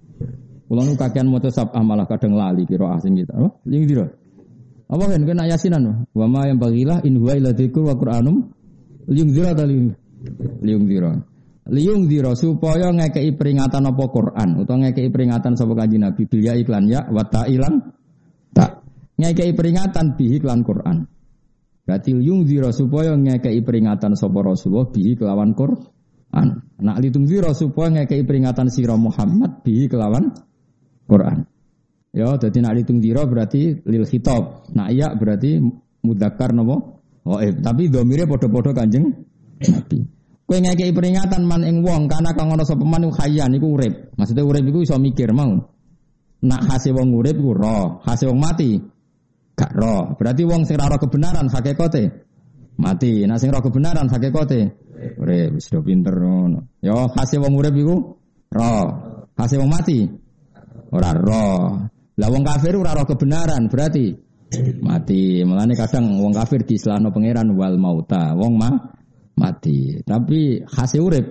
Kulo kakean maca sabah malah kadang lali kira asing kita. Apa? Liung ziro. Apa kan kena yasinan? Wa ma yang bagilah in huwa illa dzikrun wa Qur'anum. Liung ziro ta liung ziro. Liung ziro supaya ngekei peringatan apa Quran utawa ngekei peringatan sapa Kanjeng Nabi bil ya iklan ya wa ta'ilan tak. Ngekei peringatan bihi kelawan Quran. Berarti liung ziro supaya ngekei peringatan sapa Rasulullah bihi kelawan Quran. Nak litung ziro supaya ngekei peringatan sira Muhammad bihi kelawan Quran. Ya, dadi nak litung ziro berarti lil khitab. Nak iya berarti mudzakkar napa? Ghaib. Tapi dhamire padha-padha Kanjeng Nabi. Kowe ngekei peringatan man ing wong kana kang ana sapa man khayyan iku urip. Maksudnya urip iku iso mikir mau. Nak hase wong urip iku roh, hase wong mati gak roh. Berarti wong sing ora kebenaran hakikate mati. Nak sing ora kebenaran hakikate urip. Wis do pinter ngono. Ya hase wong urip iku roh, hase wong mati ora roh. Lah wong kafir ora roh kebenaran berarti mati. Mulane kadang wong kafir diislahno pangeran wal mauta. Wong mati. Tapi hasil urip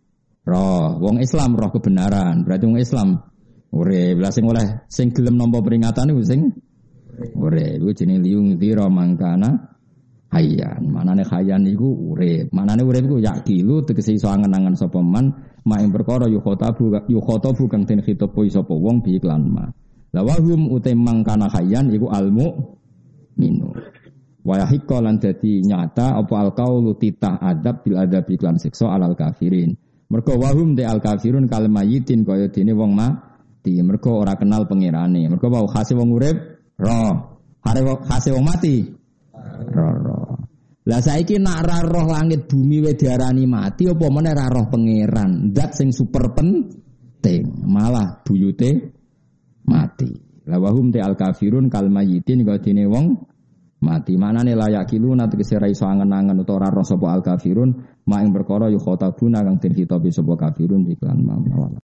roh. Wong Islam roh kebenaran. Berarti wong Islam urip. Lah sing oleh sing gelem nampa peringatan iku sing urip. Iku jenenge liung dzira mangkana hayyan. Manane hayyan iku urip. Manane urip iku yakilu tegese iso angen-angen sapa man ing perkara yukhatabu kang den khitabu sapa wong bi iklan ma. La wahum uta mangkana hayyan iku almu minu. Wa yahiqqa lan dadi nyata apa alqaulu titah adab bil adab iklan siksa alal kafirin. Mergo wahum de al kafirun kal mayitin kaya dene wong mati. Mergo ora kenal pangerane. Mergo wau khase wong urip roh. Khase wong mati roh. Lah saiki nak ra roh langit bumi we diarani mati apa meneh ra roh pangeran. Zat sing super penting malah buyute mati. La wahum de al kafirun kal mayitin kaya dene wong mati. Manane layak kilu nanti kesira iso angen-angen utawa ora sapa al kafirun mak ing perkara yu khotabuna kang den khitabi sapa kafirun iklan mawala.